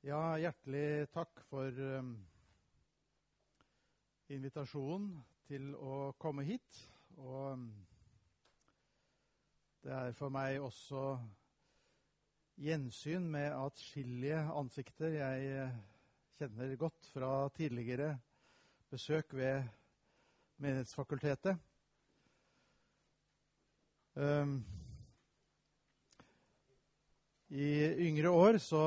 Ja, hjertelig takk for invitasjonen til å komme hit. Og det er for meg også gjensyn med atskillige ansikter jeg kjenner godt fra tidligere besøk ved Menighetsfakultetet. I yngre år så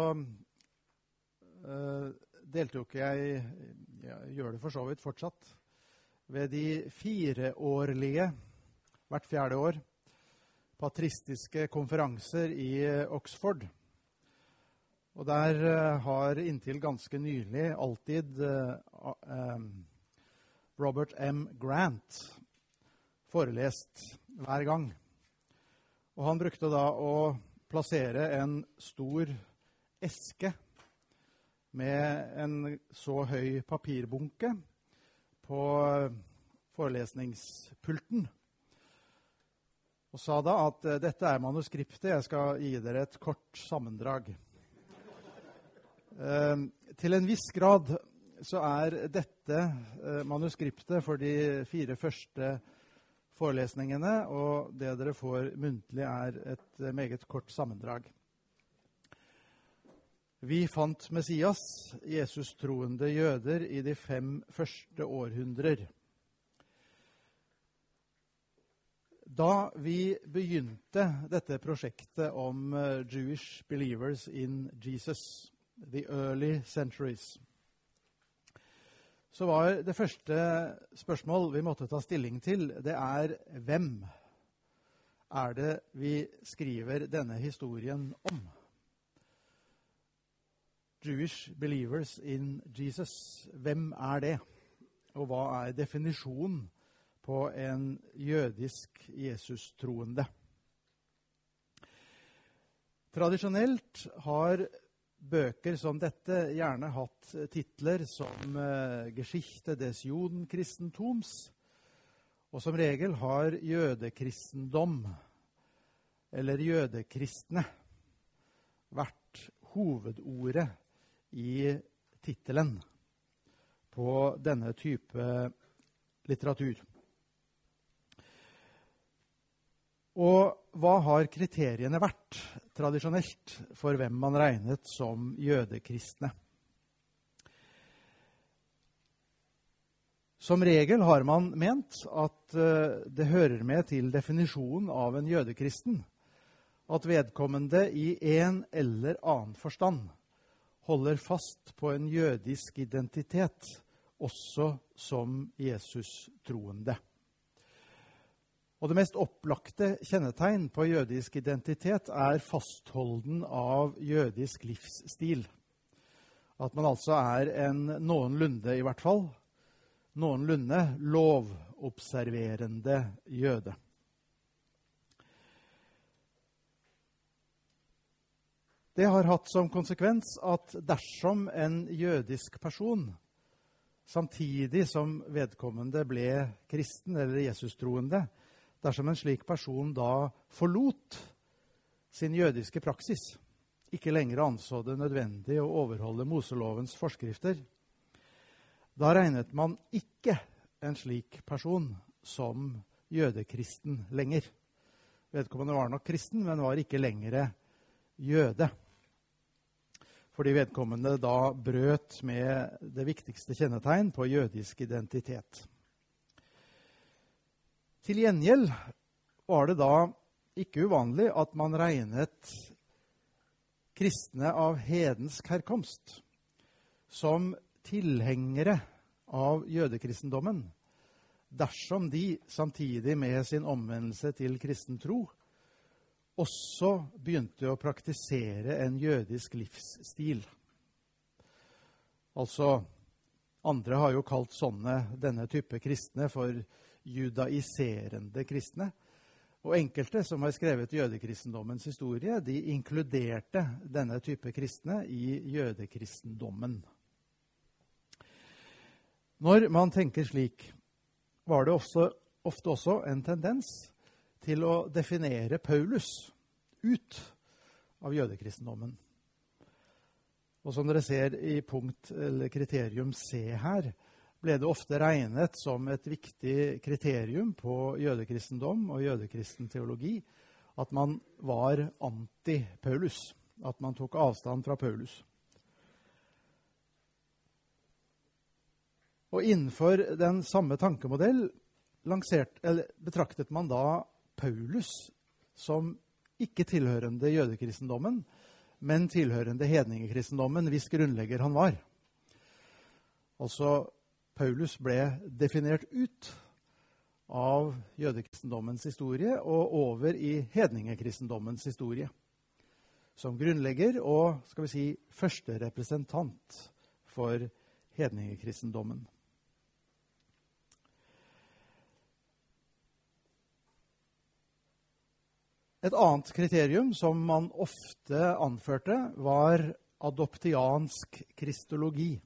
deltok jeg gjør det for så vidt fortsatt, ved de 4-årlige, hvert 4. år, patristiske konferanser i Oxford. Og der har inntil ganske nylig alltid Robert M. Grant forelest hver gang. Og han brukte da å plassere en stor eske med en så høy papirbunke på forelesningspulten. Og sa da at dette er manuskriptet, jeg skal gi dere et kort sammendrag. Til en viss grad så er dette manuskriptet for de 4 første forelesningene, og det dere får muntlig er et meget kort sammendrag. Vi fant Messias, Jesus troende jøder, i de 5 første århundrer. Da vi begynte dette prosjektet om Jewish believers in Jesus, the early centuries, så var det første spørsmål vi måtte ta stilling til, det er hvem er det vi skriver denne historien om? Jewish believers in Jesus, hvem er det? Og hva er definisjonen på en jødisk Jesus-troende? Tradisjonelt har bøker som dette gjerne hatt titler som Geschichte des Judenkristentums, og som regel har jødekristendom, eller jødekristne, vært hovedordet i titelen på denne type litteratur. Og hva har kriteriene vært tradisjonelt for hvem man regnet som jødekristne? Som regel har man ment at det hører med til definisjonen av en jødekristen at vedkommende i en eller annen forstand holder fast på en jødisk identitet, også som Jesus-troende. Og det mest opplagte kjennetegn på jødisk identitet er fastholden av jødisk livsstil. At man altså er en noenlunde, i hvert fall, noenlunde lovobserverende jøde. Det har hatt som konsekvens at dersom en jødisk person, samtidig som vedkommende ble kristen eller Jesus-troende, dersom en slik person da forlot sin jødiske praksis, ikke lenger anså det nødvendig å overholde Moselovens forskrifter, da regnet man ikke en slik person som jødekristen lenger. Vedkommende var nok kristen, men var ikke lenger jøde. Fordi vedkommende da brøt med det viktigste kjennetegn på jødisk identitet. Til gjengjeld var det da ikke uvanlig at man regnet kristne av hedensk herkomst som tilhengere av jødekristendommen, dersom de samtidig med sin omvendelse til kristen tro også begynte å praktisere en jødisk livsstil. Altså, andre har jo kalt denne type kristne for judaiserende kristne. Og enkelte som har skrevet jødekristendommens historie, de inkluderte denne type kristne i jødekristendommen. Når man tenker slik, var det ofte også en tendens til å definere Paulus ut av jødekristendommen. Og som dere ser i punkt eller kriterium C her, ble det ofte regnet som et viktig kriterium på jødekristendom og jødekristen teologi at man var anti-Paulus, at man tok avstand fra Paulus. Og innenfor den samme tankemodell betraktet man da Paulus som ikke tilhørende jødekristendommen, men tilhørende hedningekristendommen, hvis grunnlegger han var. Altså, Paulus ble definert ut av jødekristendommens historie og over i hedningekristendommens historie. Som grunnlegger og, skal vi si, første representant for hedningekristendommen. Et annet kriterium som man ofte anførte var adoptiansk kristologi.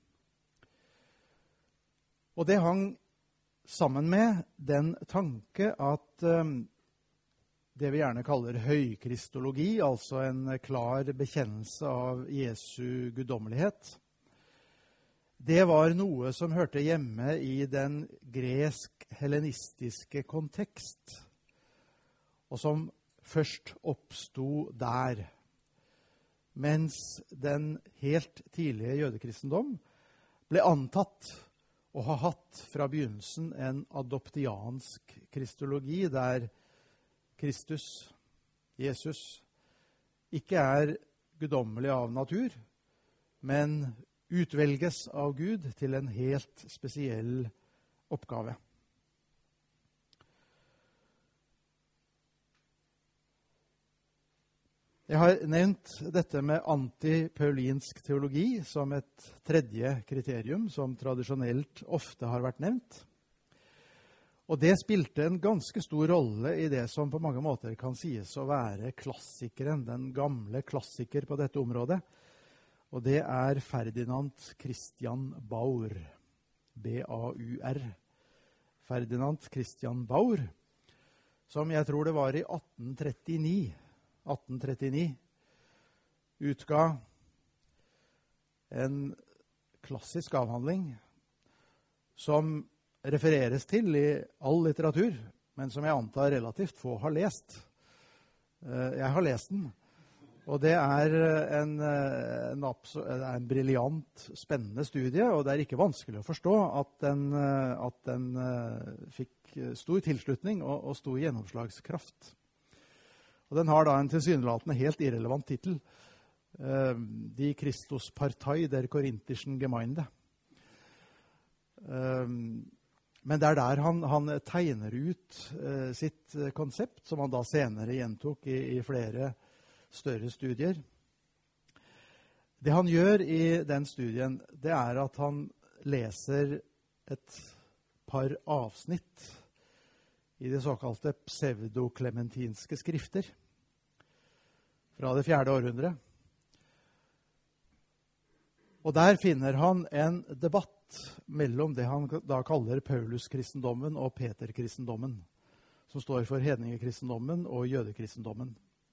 Og det hang sammen med den tanke at det vi gjerne kaller høykristologi, altså en klar bekjennelse av Jesu guddommelighet, det var noe som hørte hjemme i den gresk-hellenistiske kontekst, og som først oppstod der, mens den helt tidlige jødekristendom ble antatt å ha hatt fra begynnelsen en adoptiansk kristologi, der Kristus, Jesus, ikke er guddommelig av natur, men utvelges av Gud til en helt spesiell oppgave. Jeg har nevnt dette med antipaulinsk teologi som et tredje kriterium som tradisjonelt ofte har vært nevnt. Og det spilte en ganske stor rolle i det som på mange måter kan sies å være klassikeren, den gamle klassiker på dette området. Og det er Ferdinand Christian Baur, B-A-U-R. Ferdinand Christian Baur, som jeg tror det var i 1839, utga en klassisk avhandling som refereres til i all litteratur, men som jeg antar relativt få har lest. Jeg har lest den, og det er en briljant, spennende studie, og det er ikke vanskelig å forstå at den fikk stor tilslutning og stor gjennomslagskraft. Og den har da en tilsynelatende helt irrelevant titel. Die Christuspartei der Korinthischen Gemeinde. Men det er der han tegner ut sitt konsept, som han da senere gjentok i flere større studier. Det han gjør i den studien, det er at han leser et par avsnitt i det såkalte pseudoklementinske skrifter fra det 4. århundre. Og der finner han en debatt mellom det han da kaller Paulus-kristendommen og Peter-kristendommen, som står for hedningekristendommen og jødekristendommen.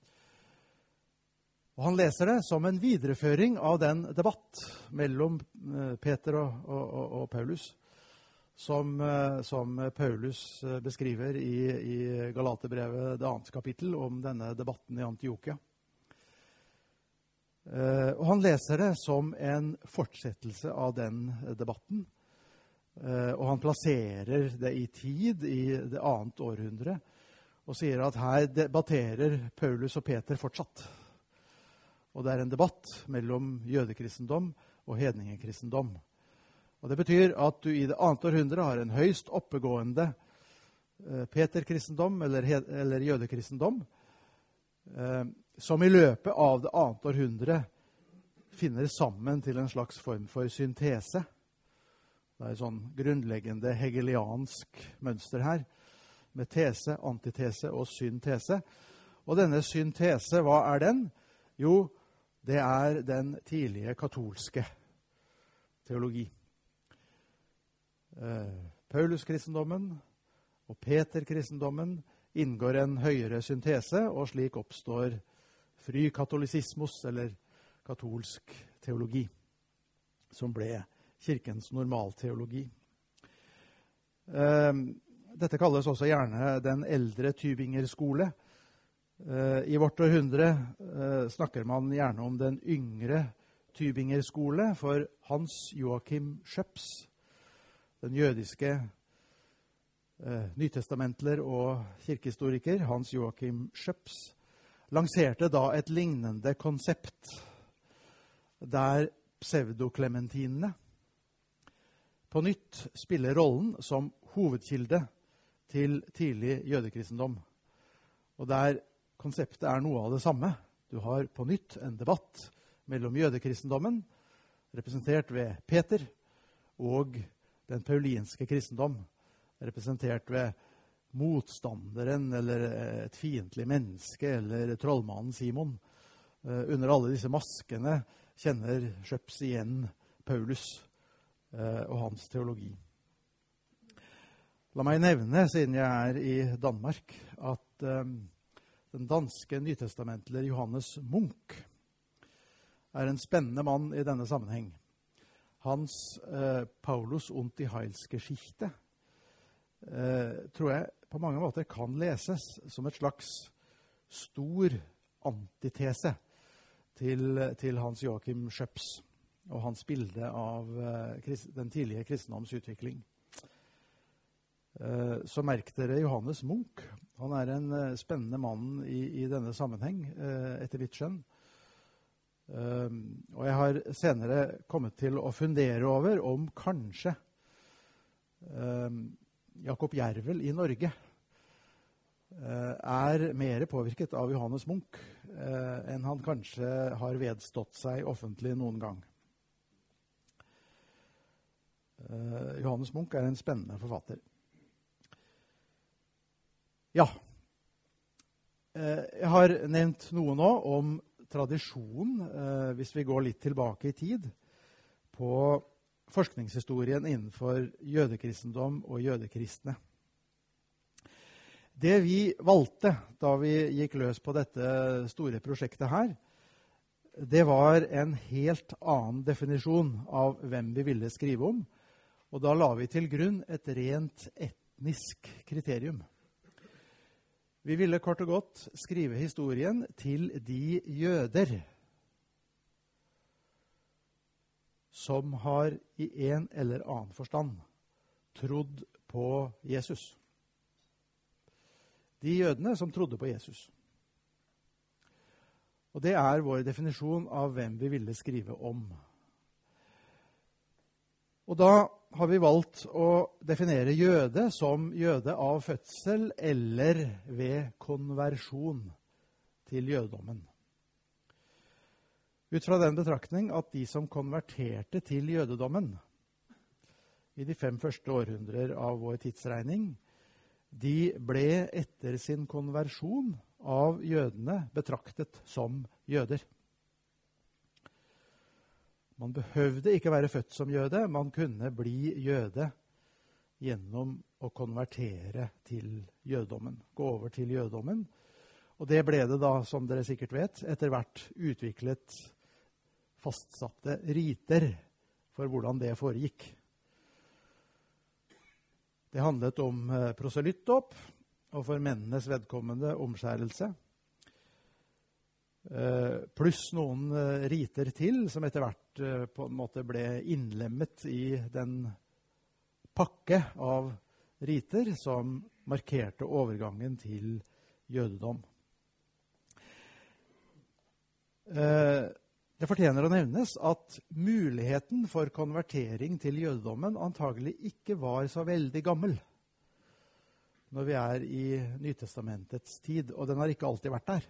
Og han leser det som en videreføring av den debatt mellom Peter og Paulus, som Paulus beskriver i Galaterbrevet, det 2. kapittel, om denne debatten i Antiokia. Og han leser det som en fortsettelse av den debatten, og han plasserer det i tid, i det 2. århundre, og sier at her debatterer Paulus og Peter fortsatt. Og det er en debatt mellom jødekristendom og hedningekristendom. Og det betyr at du i det 2. århundre har en høyst oppegående Peter-kristendom eller jødekristendom, som i løpet av det 2. århundre finner sammen til en slags form for syntese. Det er et sånn grunnleggende hegeliansk mønster her, med tese, antitese og syntese. Og denne syntese, hva er den? Jo, det er den tidlige katolske teologi. Paulus-kristendommen og Peter-kristendommen inngår en høyere syntese, og slik oppstår frykatolisismus, eller katolsk teologi. som ble kirkens normalteologi. Dette kalles også gjerne den eldre Tübinger-skole. I vårt århundre snakker man gjerne om den yngre Tübinger-skole, for Hans Joachim Schöps, den jødiske nytestamentler og kirkehistoriker Hans Joachim Schöps, lanserte da et lignende konsept der pseudoklementinene på nytt spiller rollen som hovedkilde til tidlig jødekristendom. Og der konseptet er noe av det samme. Du har på nytt en debatt mellom jødekristendommen, representert ved Peter, og den paulinske kristendom, representert ved motstanderen eller et fiendtlig menneske eller trollmannen Simon. Under alle disse maskene kjenner Schöps igjen Paulus og hans teologi. La meg nevne, siden jeg er i Danmark, at den danske nytestamentler Johannes Munk er en spennende mann i denne sammenheng. Hans Paulus und die Heilsgeschichte tror jeg på mange måter kan leses som et slags stor antitese til Hans Joachim Schöps og hans bilde av den tidlige kristendoms utvikling. Så merk dere Johannes Munk. Han er en spennende mann i denne sammenheng, etter mitt skjønn. Og jeg har senere kommet til å fundere over om kanskje Jakob Jervel i Norge er mer påvirket av Johannes Munk enn han kanskje har vedstått seg offentlig noen gang. Johannes Munk er en spennende forfatter. Ja, jeg har nevnt noe nå om tradisjon, hvis vi går litt tilbake i tid, på forskningshistorien innenfor jødekristendom og jødekristne. Det vi valgte da vi gikk løs på dette store prosjektet her, det var en helt annen definisjon av hvem vi ville skrive om, og da la vi til grunn et rent etnisk kriterium. Vi ville kort og godt skrive historien til de jøder som har i en eller annen forstand trodd på Jesus. De jødene som trodde på Jesus. Og det er vår definisjon av hvem vi ville skrive om. Og da har vi valgt å definere jøde som jøde av fødsel eller ved konversjon til jødedommen. Ut fra den betraktning at de som konverterte til jødedommen i de 5 første århundrer av vår tidsregning, de ble etter sin konversjon av jødene betraktet som jøder. Man behøvde ikke være født som jøde, man kunne bli jøde gjennom å konvertere til jødedommen, gå over til jødedommen. Og det ble det da, som dere sikkert vet, etter hvert utviklet fastsatte riter for hvordan det foregikk. Det handlet om proselyttdåp, og for mennenes vedkommende omskjærelse. Pluss noen riter til, som etter hvert på en måte ble innlemmet i den pakke av riter som markerte overgangen til jødedom. Det fortjener å nevnes at muligheten for konvertering til jødedommen antagelig ikke var så veldig gammel når vi er i Nytestamentets tid, og den har ikke alltid vært der.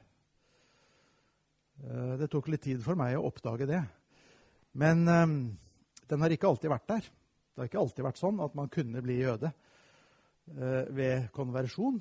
Det tok litt tid for meg å oppdage det. Men den har ikke alltid vært der. Det har ikke alltid vært sånn at man kunne bli jøde ved konversjon.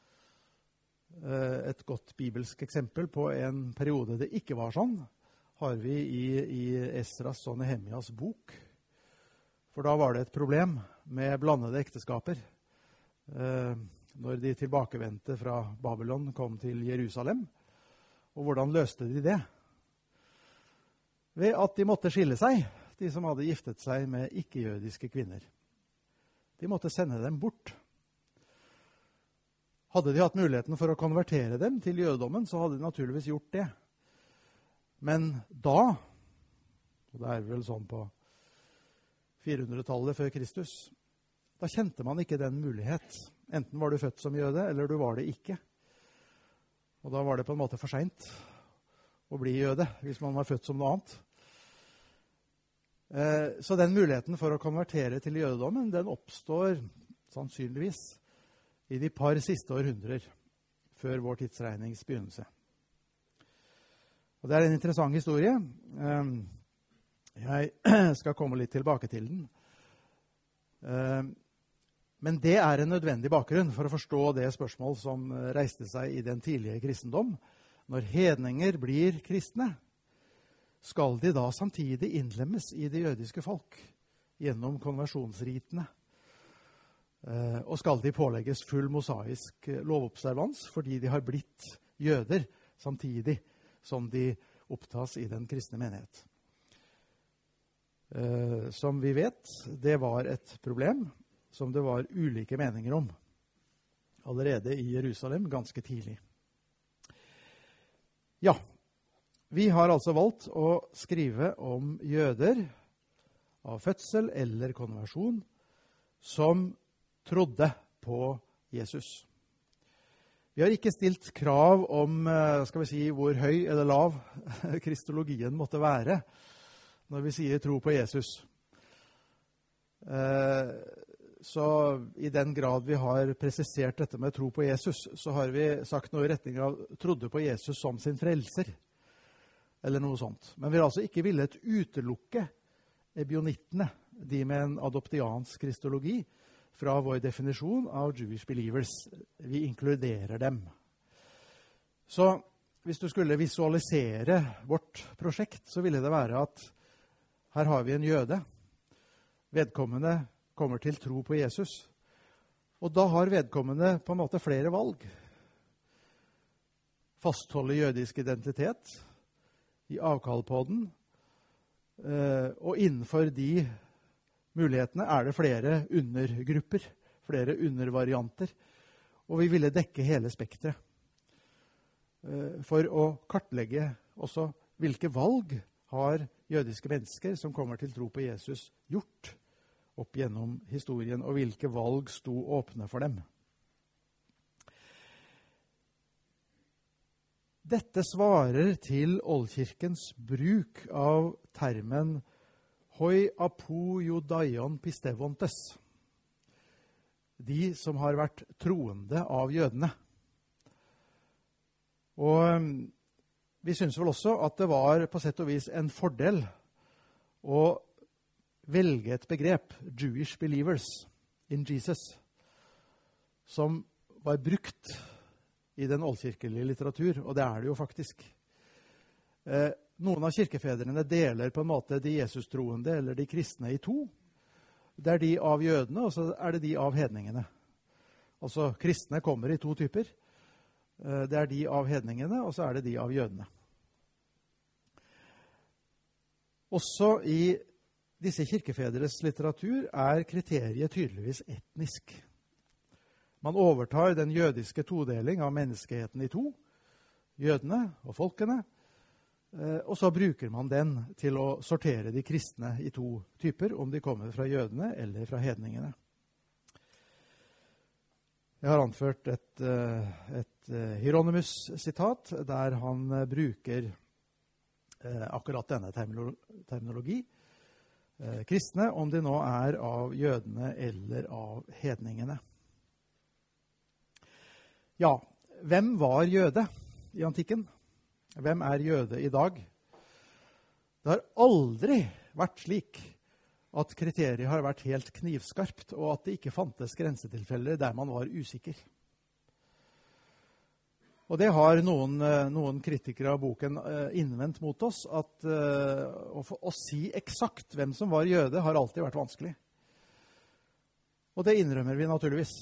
Et godt bibelsk eksempel på en periode det ikke var sånn, har vi i Esras og Nehemjas bok. For da var det et problem med blandede ekteskaper. Når de tilbakevendte fra Babylon kom til Jerusalem. Og hvordan løste de det? Ved at de måtte skille seg. de som hadde giftet seg med ikke-jødiske kvinner. De måtte sende dem bort. Hadde de hatt muligheten for å konvertere dem til jødedommen, så hadde de naturligvis gjort det. Men da, og det er vel sånn på 400-tallet før Kristus, da kjente man ikke den mulighet. Enten var du født som jøde, eller du var det ikke. Og da var det på en måte for sent å bli jøde, hvis man var født som noe annet. Så den muligheten for å konvertere til jødedommen, den oppstår sannsynligvis i de par siste århundrer før vår tidsregnings begynnelse. Og det er en interessant historie. Jeg skal komme litt tilbake til den. Men det er en nødvendig bakgrunn for å forstå det spørsmål som reiste seg i den tidlige kristendom. Når hedninger blir kristne, skal de da samtidig innlemmes i det jødiske folk gjennom konversjonsritene? Og skal de pålegges full mosaisk lovobservans fordi de har blitt jøder samtidig som de opptas i den kristne menighet? Som vi vet, det var et problem som det var ulike meninger om allerede i Jerusalem ganske tidlig. Ja, vi har altså valgt å skrive om jøder av fødsel eller konversjon som trodde på Jesus. Vi har ikke stilt krav om skal vi si, hvor høy eller lav kristologien måtte være når vi sier tro på Jesus. Så i den grad vi har presisert dette med tro på Jesus, så har vi sagt noe i retning av trodde på Jesus som sin frelser, eller noe sånt. Men vi har altså ikke villet utelukke ebionittene, de med en adoptiansk kristologi, fra vår definisjon av Jewish believers. Vi inkluderer dem. Så hvis du skulle visualisere vårt prosjekt, så ville det være at her har vi en jøde. Vedkommende kommer til tro på Jesus. Og da har vedkommende på en måte flere valg. Fastholde jødisk identitet, i avkall på den, og innenfor de mulighetene er det flere undergrupper, flere undervarianter, og vi ville dekke hele spektret for å kartlegge også hvilke valg har jødiske mennesker som kommer til tro på Jesus gjort opp gjennom historien, og hvilke valg sto åpne for dem. Dette svarer til oldkirkens bruk av termen «hoi apo judaion pistevontes», de som har vært troende av jødene. Og vi synes vel også at det var på sett og vis en fordel å velge et begrep, Jewish believers in Jesus, som var brukt i den oldkirkelige litteratur, og det er det jo faktisk. Noen av kirkefedrene deler på en måte de Jesus-troende eller de kristne i to. Det er de av jødene, og så er det de av hedningene. Altså, kristne kommer i to typer. Det er de av hedningene, og så er det de av jødene. Også i disse kirkefedres litteratur er kriteriet tydeligvis etnisk. Man overtar den jødiske todeling av menneskeheten i to, jødene og folkene, og så bruker man den til å sortere de kristne i to typer, om de kommer fra jødene eller fra hedningene. Jeg har anført et Hieronymus-sitat, der han bruker akkurat denne terminologi. Kristne, om de nå er av jødene eller av hedningene. Ja, hvem var jøde i antikken? Hvem er jøde i dag? Det har aldri vært slik at kriteriet har vært helt knivskarpt, og at det ikke fantes grensetilfeller der man var usikker. Og det har noen kritikere av boken innvendt mot oss, at å si eksakt hvem som var jøde har alltid vært vanskelig. Og det innrømmer vi naturligvis.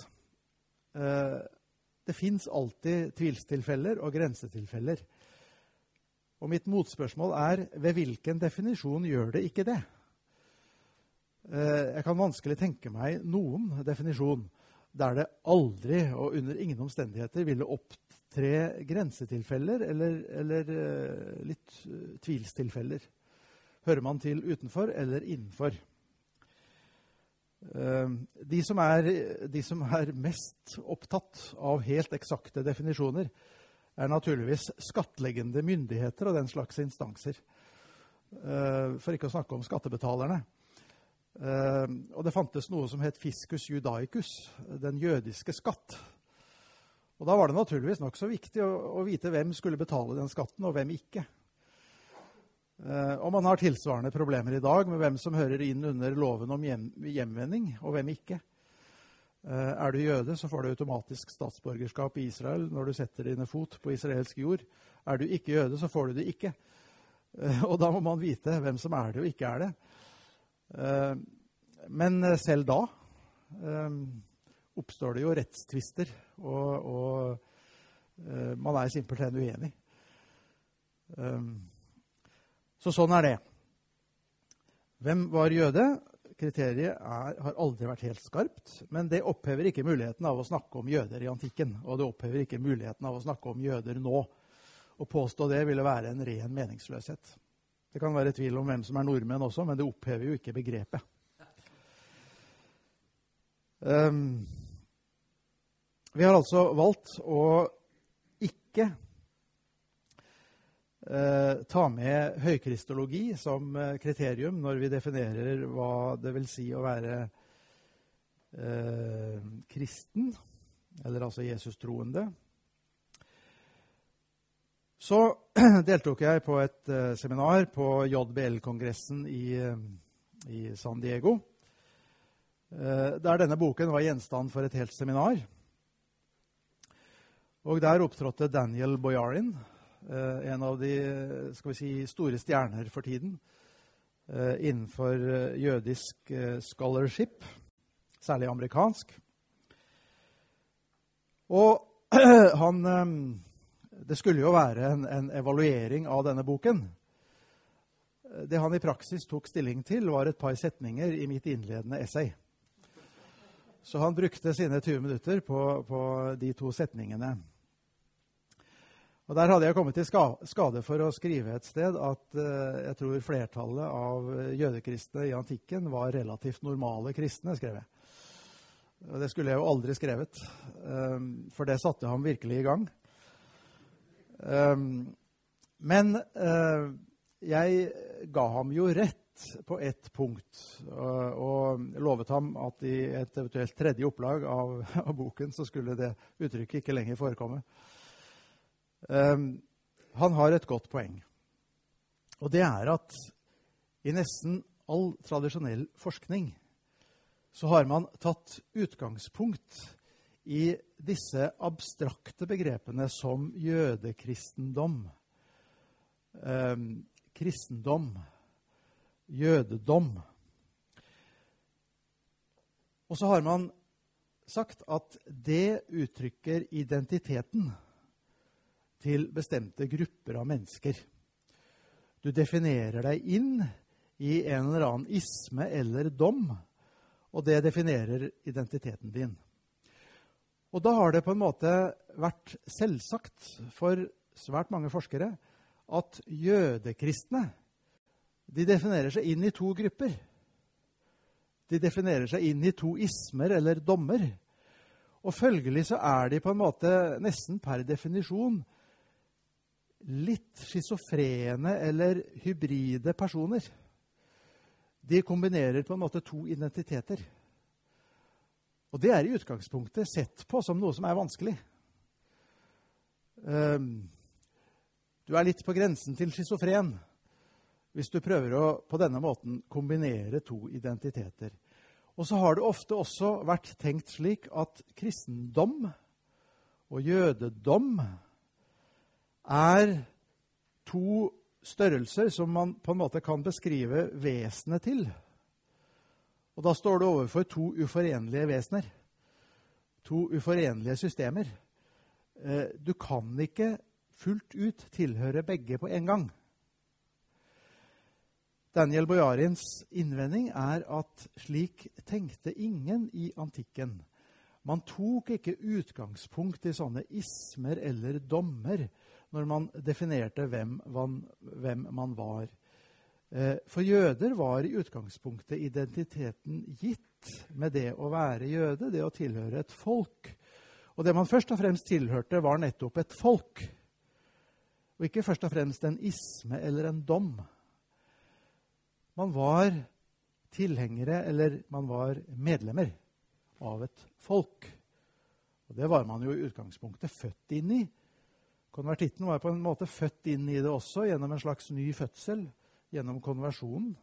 Det finnes alltid tvilstilfeller og grensetilfeller. Og mitt motspørsmål er, ved hvilken definisjon gjør det ikke det? Jeg kan vanskelig tenke meg noen definisjon der det aldri og under ingen omstendigheter ville opptre grensetilfeller eller litt tvilstilfeller. Hører man til utenfor eller innenfor? De som er mest opptatt av helt eksakte definisjoner, er naturligvis skattleggende myndigheter og den slags instanser. For ikke å snakke om skattebetalerne. Og det fantes noe som het fiscus judaicus, den jødiske skatt. Og da var det naturligvis nok så viktig å vite hvem skulle betale den skatten, og hvem ikke. Og man har tilsvarende problemer i dag med hvem som hører inn under loven om hjemvending, og hvem ikke. Er du jøde, så får du automatisk statsborgerskap i Israel når du setter dine fot på israelsk jord. Er du ikke jøde, så får du det ikke. Og da må man vite hvem som er det og ikke er det. Men selv da oppstår det jo rettstvister, og man er simpelthen uenig. Så sånn er det. Hvem var jøde? Kriteriet har aldri vært helt skarpt, men det opphever ikke muligheten av å snakke om jøder i antikken, og det opphever ikke muligheten av å snakke om jøder nå. Å påstå det ville være en ren meningsløshet. Det kan være tvil om hvem som er nordmenn også, men det opphever jo ikke begrepet. Vi har altså valgt å ikke ta med høykristologi som kriterium når vi definerer hva det vil si å være kristen, eller altså Jesus-troende. Så deltok jeg på et seminar på JBL-kongressen i San Diego, der denne boken var gjenstand for et helt seminar. Og der opptrådte Daniel Boyarin, en av de store stjerner for tiden innenfor jødisk scholarship, særlig amerikansk. Og det skulle jo være en evaluering av denne boken. Det han i praksis tok stilling til var et par setninger i mitt innledende essay. Så han brukte sine 20 minutter på de 2 setningene. Og der hadde jeg kommet til skade for å skrive et sted at jeg tror flertallet av jødekristne i antikken var relativt normale kristne, skrev jeg. Og det skulle jeg jo aldri skrevet, for det satte ham virkelig i gang. Men jeg ga ham jo rett på ett punkt, og lovet ham at i et eventuelt tredje opplag av boken så skulle det uttrykket ikke lenger forekomme. Han har et godt poeng, og det er at i nesten all tradisjonell forskning så har man tatt utgangspunkt i disse abstrakte begrepene som jødekristendom, kristendom, jødedom. Og så har man sagt at det uttrykker identiteten til bestemte grupper av mennesker. Du definerer deg inn i en eller annen isme eller dom, og det definerer identiteten din. Og da har det på en måte vært selvsagt for svært mange forskere at jødekristne, de definerer seg inn i 2 grupper. De definerer seg inn i 2 ismer eller dommer. Og følgelig så er de på en måte nesten per definisjon litt schizofrene eller hybride personer. De kombinerer på en måte 2 identiteter. Og det er i utgangspunktet sett på som noe som er vanskelig. Du er litt på grensen til schizofren hvis du prøver å på denne måten kombinere 2 identiteter. Og så har det ofte også vært tenkt slik at kristendom og jødedom er 2 størrelser som man på en måte kan beskrive vesenet til. Og da står du overfor 2 uforenlige vesener. 2 uforenlige systemer. Du kan ikke fullt ut tilhøre begge på en gang. Daniel Bojarins innvending at slik tenkte ingen i antikken. Man tok ikke utgangspunkt i sånne ismer eller dommer når man definerte hvem man var. For jøder var i utgangspunktet identiteten gitt med det å være jøde, det å tilhøre et folk. Og det man først og fremst tilhørte var nettopp et folk, og ikke først og fremst en isme eller en dom. Man var tilhengere, eller man var medlemmer av et folk. Og det var man jo i utgangspunktet født inn i. Konvertitten var på en måte født inn i det også, gjennom en slags ny fødsel, gjennom konversjonen.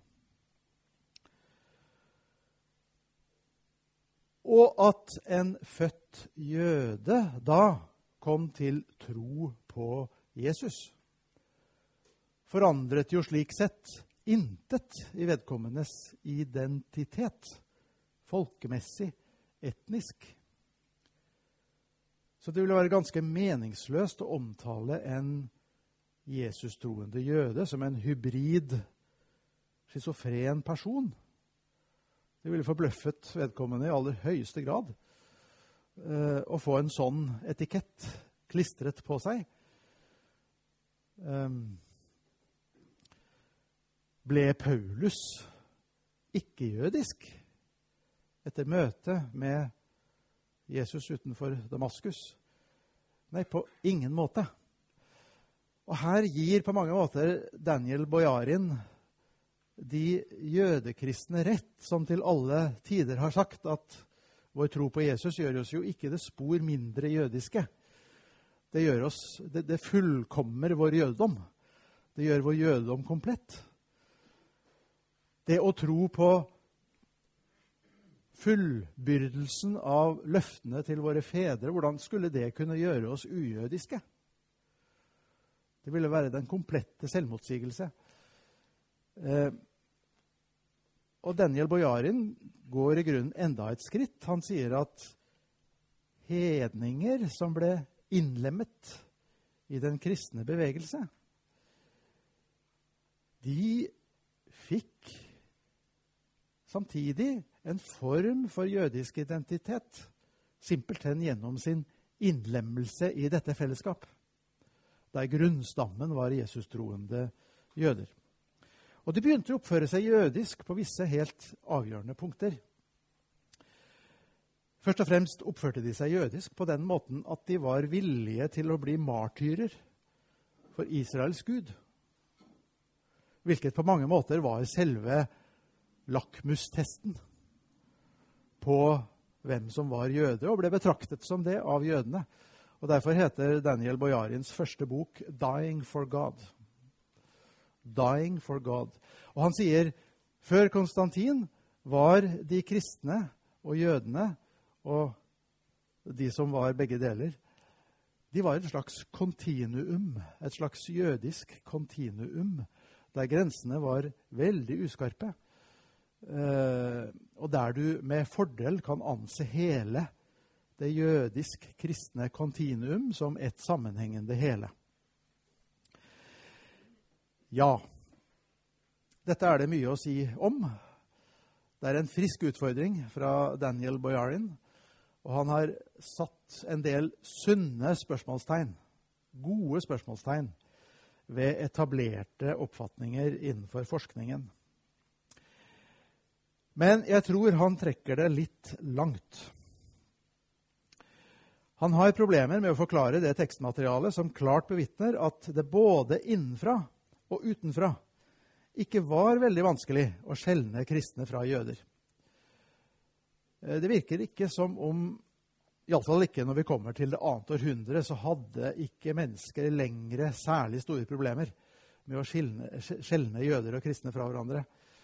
Og at en født jøde da kom til tro på Jesus, forandret jo slik sett intet i vedkommendes identitet, folkemessig, etnisk. Så det ville være ganske meningsløst å omtale en Jesus-troende jøde som en hybrid, schizofren person. Det ville forbløffet vedkommende i aller høyeste grad å få en sånn etikett klistret på seg. Ble Paulus ikke-jødisk etter møtet med Jesus utenfor Damaskus? Nei, på ingen måte. Og her gir på mange måter Daniel Bojarin de jødekristne rett, som til alle tider har sagt at vår tro på Jesus gjør oss jo ikke det spor mindre jødiske. Det fullkommer vår jødedom. Det gjør vår jødedom komplett. Det å tro på fullbyrdelsen av løftene til våre fedre, hvordan skulle det kunne gjøre oss ujødiske? Det ville være den komplette selvmotsigelse. Og Daniel Bojarin går i grunnen enda et skritt. Han sier at hedninger som ble innlemmet i den kristne bevegelse, de fikk samtidig en form for jødisk identitet, simpelthen gjennom sin innlemmelse i dette fellesskap, der grunnstammen var Jesus-troende jøder. Og de begynte å oppføre seg jødisk på visse helt avgjørende punkter. Først og fremst oppførte de seg jødisk på den måten at de var villige til å bli martyrer for Israels Gud, hvilket på mange måter var selve lakmustesten på hvem som var jøde, og ble betraktet som det av jødene. Og derfor heter Daniel Bojarins første bok «Dying for God». Dying for God. Og han sier, før Konstantin var de kristne og jødene, og de som var begge deler, de var et slags kontinuum, et slags jødisk kontinuum, der grensene var veldig uskarpe. Og der du med fordel kan anse hele det jødisk-kristne kontinuum som et sammenhengende hele. Ja, dette er det mye å si om. Det er en frisk utfordring fra Daniel Bojarin, og han har satt en del sunne spørsmålstegn, gode spørsmålstegn, ved etablerte oppfatninger innenfor forskningen. Men jeg tror han trekker det litt langt. Han har problemer med å forklare det tekstmaterialet som klart bevitner at det både innenfra og utenfra ikke var veldig vanskelig å skjelne kristne fra jøder. Det virker ikke som om, i alle fall ikke når vi kommer til det annet århundre, så hadde ikke mennesker lengre særlig store problemer med å skjelne jøder og kristne fra hverandre.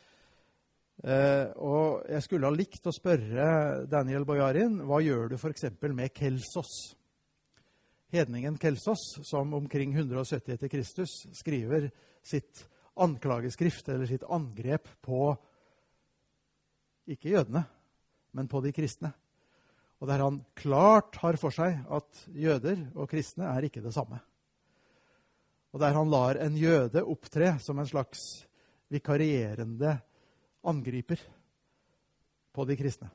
Og jeg skulle ha likt å spørre Daniel Bojarin, hva gjør du for eksempel med Kelsos? Hedningen Kelsos, som omkring 170 etter Kristus skriver sitt anklageskrift, eller sitt angrep på, ikke jødene, men på de kristne. Og der han klart har for seg at jøder og kristne er ikke det samme. Og der han lar en jøde opptre som en slags vikarierende angriper på de kristne.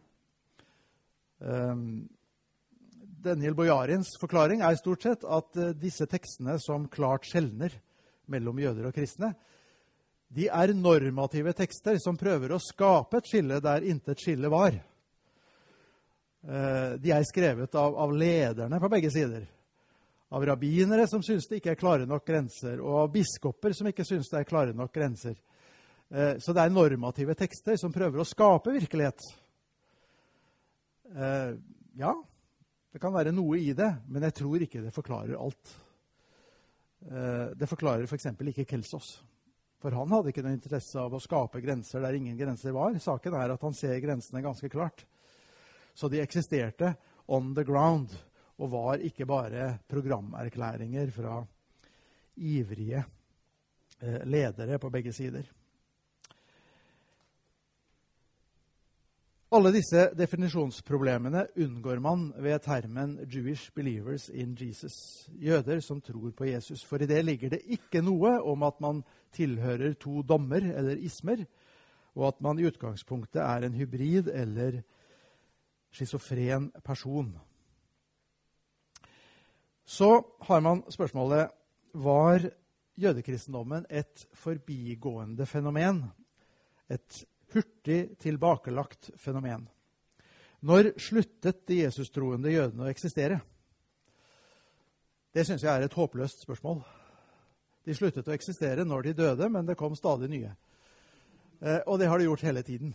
Daniel Bojarins forklaring er stort sett at disse tekstene som klart skjelner mellom jøder og kristne, de er normative tekster som prøver å skape et skille der intet skille var. De er skrevet av lederne på begge sider. Av rabbinere som synes det ikke er klare nok grenser, og av biskoper som ikke synes det er klare nok grenser. Så det er normative tekster som prøver å skape virkelighet. Ja, det kan være noe i det, men jeg tror ikke det forklarer alt. Det forklarer for eksempel ikke Kelsos. For han hadde ikke noen interesse av å skape grenser der ingen grenser var. Saken er at han ser grensene ganske klart. Så de eksisterte on the ground, og var ikke bare programerklæringer fra ivrige ledere på begge sider. Alle disse definisjonsproblemene unngår man ved termen Jewish believers in Jesus, jøder som tror på Jesus. For i det ligger det ikke noe om at man tilhører to dommer eller ismer, og at man i utgangspunktet er en hybrid eller schizofren person. Så har man spørsmålet, var jødekristendommen et forbigående fenomen? Et hurtig tilbakelagt fenomen? Når sluttet de Jesus-troende jødene å eksistere? Det synes jeg er et håpløst spørsmål. De sluttet å eksistere når de døde, men det kom stadig nye. Og det har de gjort hele tiden.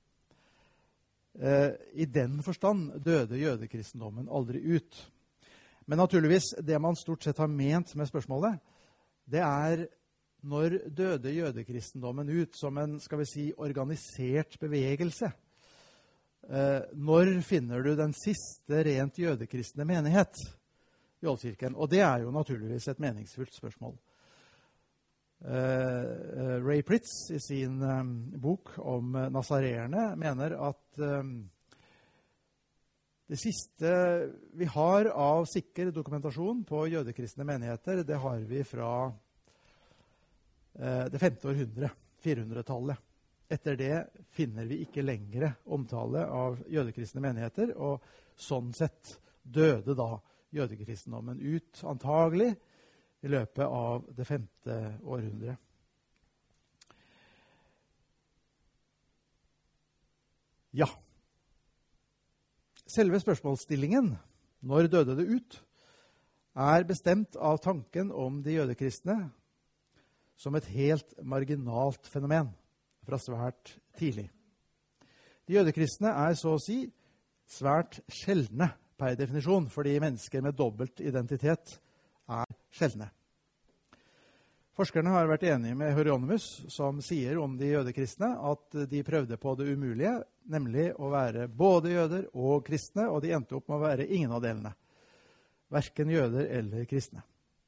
I den forstand døde jødekristendommen aldri ut. Men naturligvis, det man stort sett har ment med spørsmålet, det er når døde jødekristendommen ut som en, skal vi si, organisert bevegelse. Når finner du den siste rent jødekristne menighet i Oldkirken? Og det er jo naturligvis et meningsfullt spørsmål. Ray Pritz i sin bok om nazareerne mener at det siste vi har av sikker dokumentasjon på jødekristne menigheter, det har vi fra det 5. århundre, 400-tallet. Etter det finner vi ikke lengre omtale av jødekristne menigheter, og sånn sett døde da jødekristendommen ut, antagelig, i løpet av det 5. århundre. Ja. Selve spørsmålsstillingen, når døde det ut, er bestemt av tanken om de jødekristne som et helt marginalt fenomen fra svært tidlig. De jødekristne er så å si svært sjeldne per definisjon, fordi mennesker med dobbelt identitet er sjeldne. Forskerne har vært enige med Hieronymus, som sier om de jødekristne at de prøvde på det umulige, nemlig å være både jøder og kristne, og de endte opp med å være ingen av delene. Hverken jøder eller kristne.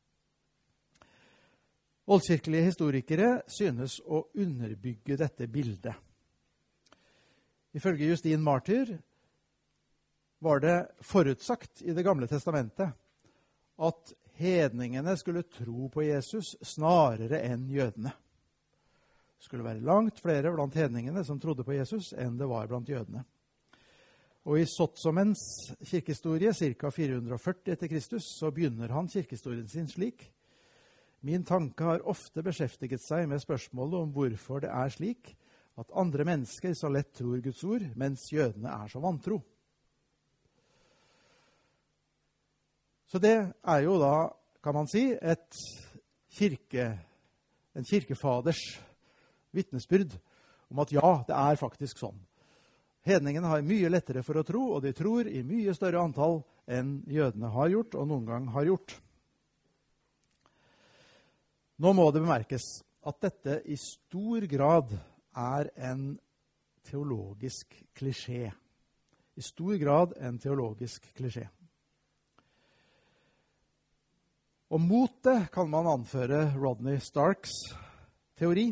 Oldkirkelige historikere synes å underbygge dette bildet. Ifølge Justin Martyr var det forutsagt i Det gamle testamentet at hedningene skulle tro på Jesus snarere enn jødene. Det skulle være langt flere blant hedningene som trodde på Jesus enn det var blant jødene. Og i Sotsomens kirkehistorie, ca. 440 etter Kristus, så begynner han kirkehistorien sin slik: Min tanke har ofte beskjeftiget seg med spørsmålet om hvorfor det er slik at andre mennesker så lett tror Guds ord, mens jødene er så vantro. Så det er jo da, kan man si, en kirkefaders vitnesbyrd om at ja, det er faktisk sånn. Hedningene har mye lettere for å tro, og de tror i mye større antall enn jødene har gjort, og noen gang har gjort. Nå må det bemerkes at dette i stor grad er en teologisk klisjé. I stor grad en teologisk klisjé. Og mot det kan man anføre Rodney Starks teori.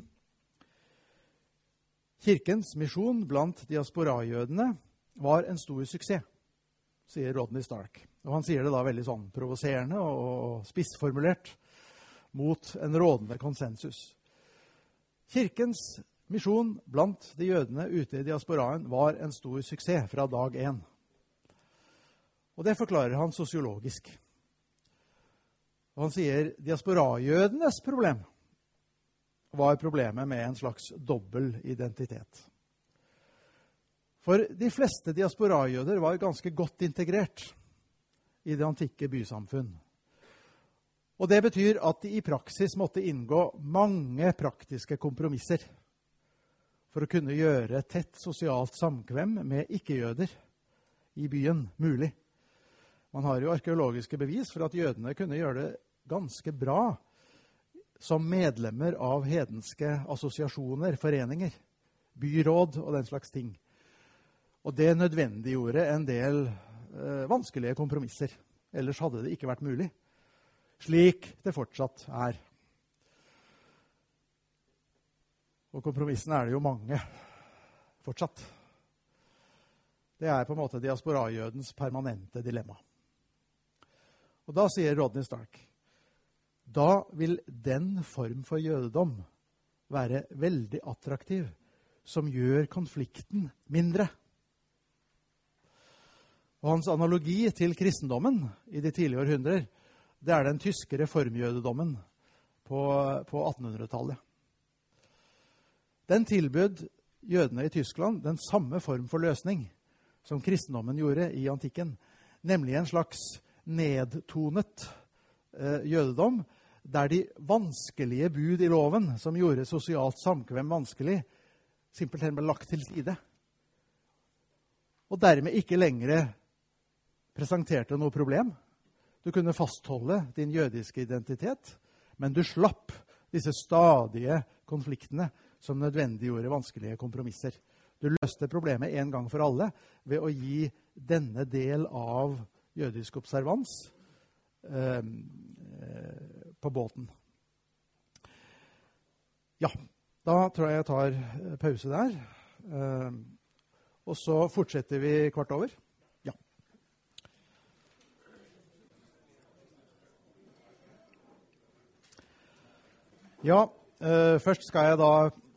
Kirkens misjon blant diasporajødene var en stor suksess, sier Rodney Stark. Og han sier det da veldig sånn provoserende og spissformulert mot en rådende konsensus. Kirkens misjon blant de jødene ute i diasporaen var en stor suksess fra dag 1. Og det forklarer han sosiologisk. Og han sier diasporajødenes problem var problemet med en slags dobbel identitet. For de fleste diasporajøder var ganske godt integrert i det antikke bysamfunn. Og det betyr at de i praksis måtte inngå mange praktiske kompromisser for å kunne gjøre tett sosialt samkvem med ikke-jøder i byen mulig. Man har jo arkeologiske bevis for at jødene kunne gjøre det ganske bra som medlemmer av hedenske assosiasjoner, foreninger, byråd og den slags ting. Og det nødvendiggjorde en del vanskelige kompromisser. Ellers hadde det ikke vært mulig. Slik det fortsatt er. Og kompromissene er det jo mange fortsatt. Det er på en måte diasporajødens permanente dilemma. Og da sier Rodney Stark, da vil den form for jødedom være veldig attraktiv, som gjør konflikten mindre. Og hans analogi til kristendommen i de tidlige århundrer, det er den tyske reformjødedommen på 1800-tallet. Den tilbød jødene i Tyskland den samme form for løsning som kristendommen gjorde i antikken, nemlig en slags nedtonet jødedom, der de vanskelige bud i loven, som gjorde sosialt samkvem vanskelig, simpelthen ble lagt til side. Og dermed ikke lenger presenterte noe problem. Du kunne fastholde din jødiske identitet, men du slapp disse stadige konfliktene som nødvendiggjorde vanskelige kompromisser. Du løste problemet en gang for alle ved å gi denne del av jødisk observans på båten. Ja, da tror jeg tar pause der. Og så fortsetter vi kvart over. Ja. Ja, først skal jeg da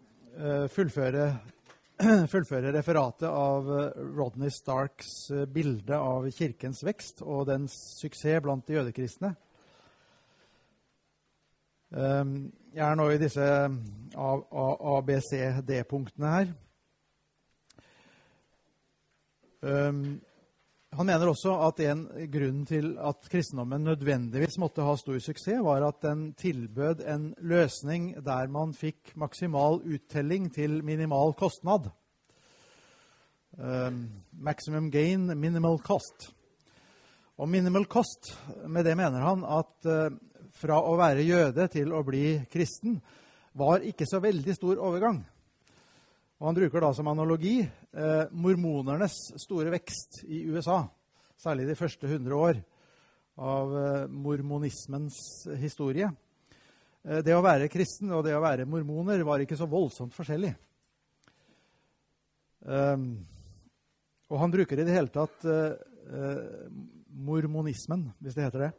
fullføre referatet av Rodney Starks bilde av kirkens vekst og dens suksess blant de jødekristne. Jeg er nå i disse ABCD-punktene her. Han mener også at en grunn til at kristendommen nødvendigvis måtte ha stor suksess, var at den tilbød en løsning der man fikk maksimal uttelling til minimal kostnad. Maximum gain, minimal cost. Og minimal cost, med det mener han at fra å være jøde til å bli kristen var ikke så veldig stor overgang. Og han bruker da som analogi mormonernes store vekst i USA, særlig de første 100 år av mormonismens historie. Det å være kristen og det å være mormoner var ikke så voldsomt forskjellig. Og han bruker i det hele tatt mormonismen, hvis det heter det.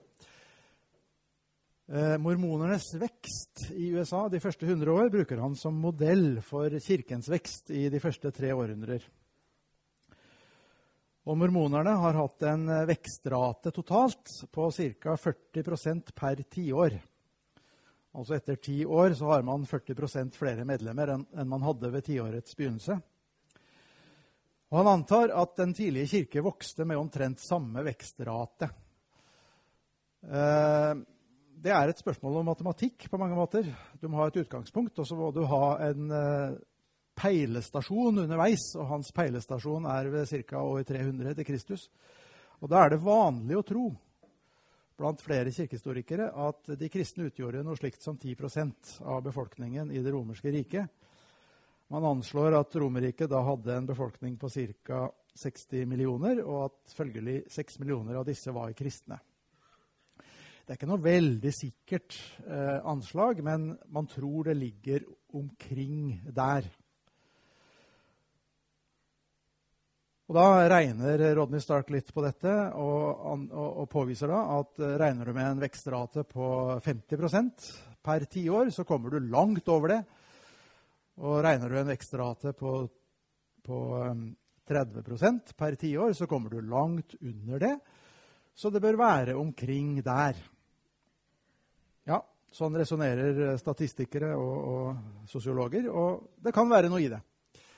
Mormonernes vekst i USA de første 100 år bruker han som modell for kirkens vekst i de første 3 århundrer. Og mormonerne har hatt en vekstrate totalt på ca. 40% per 10 år. Altså etter 10 år så har man 40% flere medlemmer enn man hadde ved 10-årets begynnelse. Og han antar at den tidlige kirke vokste med omtrent samme vekstrate. Det er et spørsmål om matematikk på mange måter. Du må ha et utgangspunkt, og så må du ha en peilestasjon underveis, og hans peilestasjon er ved ca. år 300 til Kristus. Og da er det vanlig å tro, blant flere kirkehistorikere, at de kristne utgjorde noe slikt som 10% av befolkningen i det romerske riket. Man anslår at Romerriket da hadde en befolkning på ca. 60 millioner, og at følgelig 6 millioner av disse var kristne. Det er ikke noe veldig sikkert anslag, men man tror det ligger omkring der. Og da regner Rodney Stark litt på dette, og påviser da at regner du med en vekstrate på 50% per 10 år, så kommer du langt over det. Og regner du en vekstrate på 30% per 10 år, så kommer du langt under det. Så det bør være omkring der. Ja, sånn resonerer statistikere og sosiologer, og det kan være noe i det.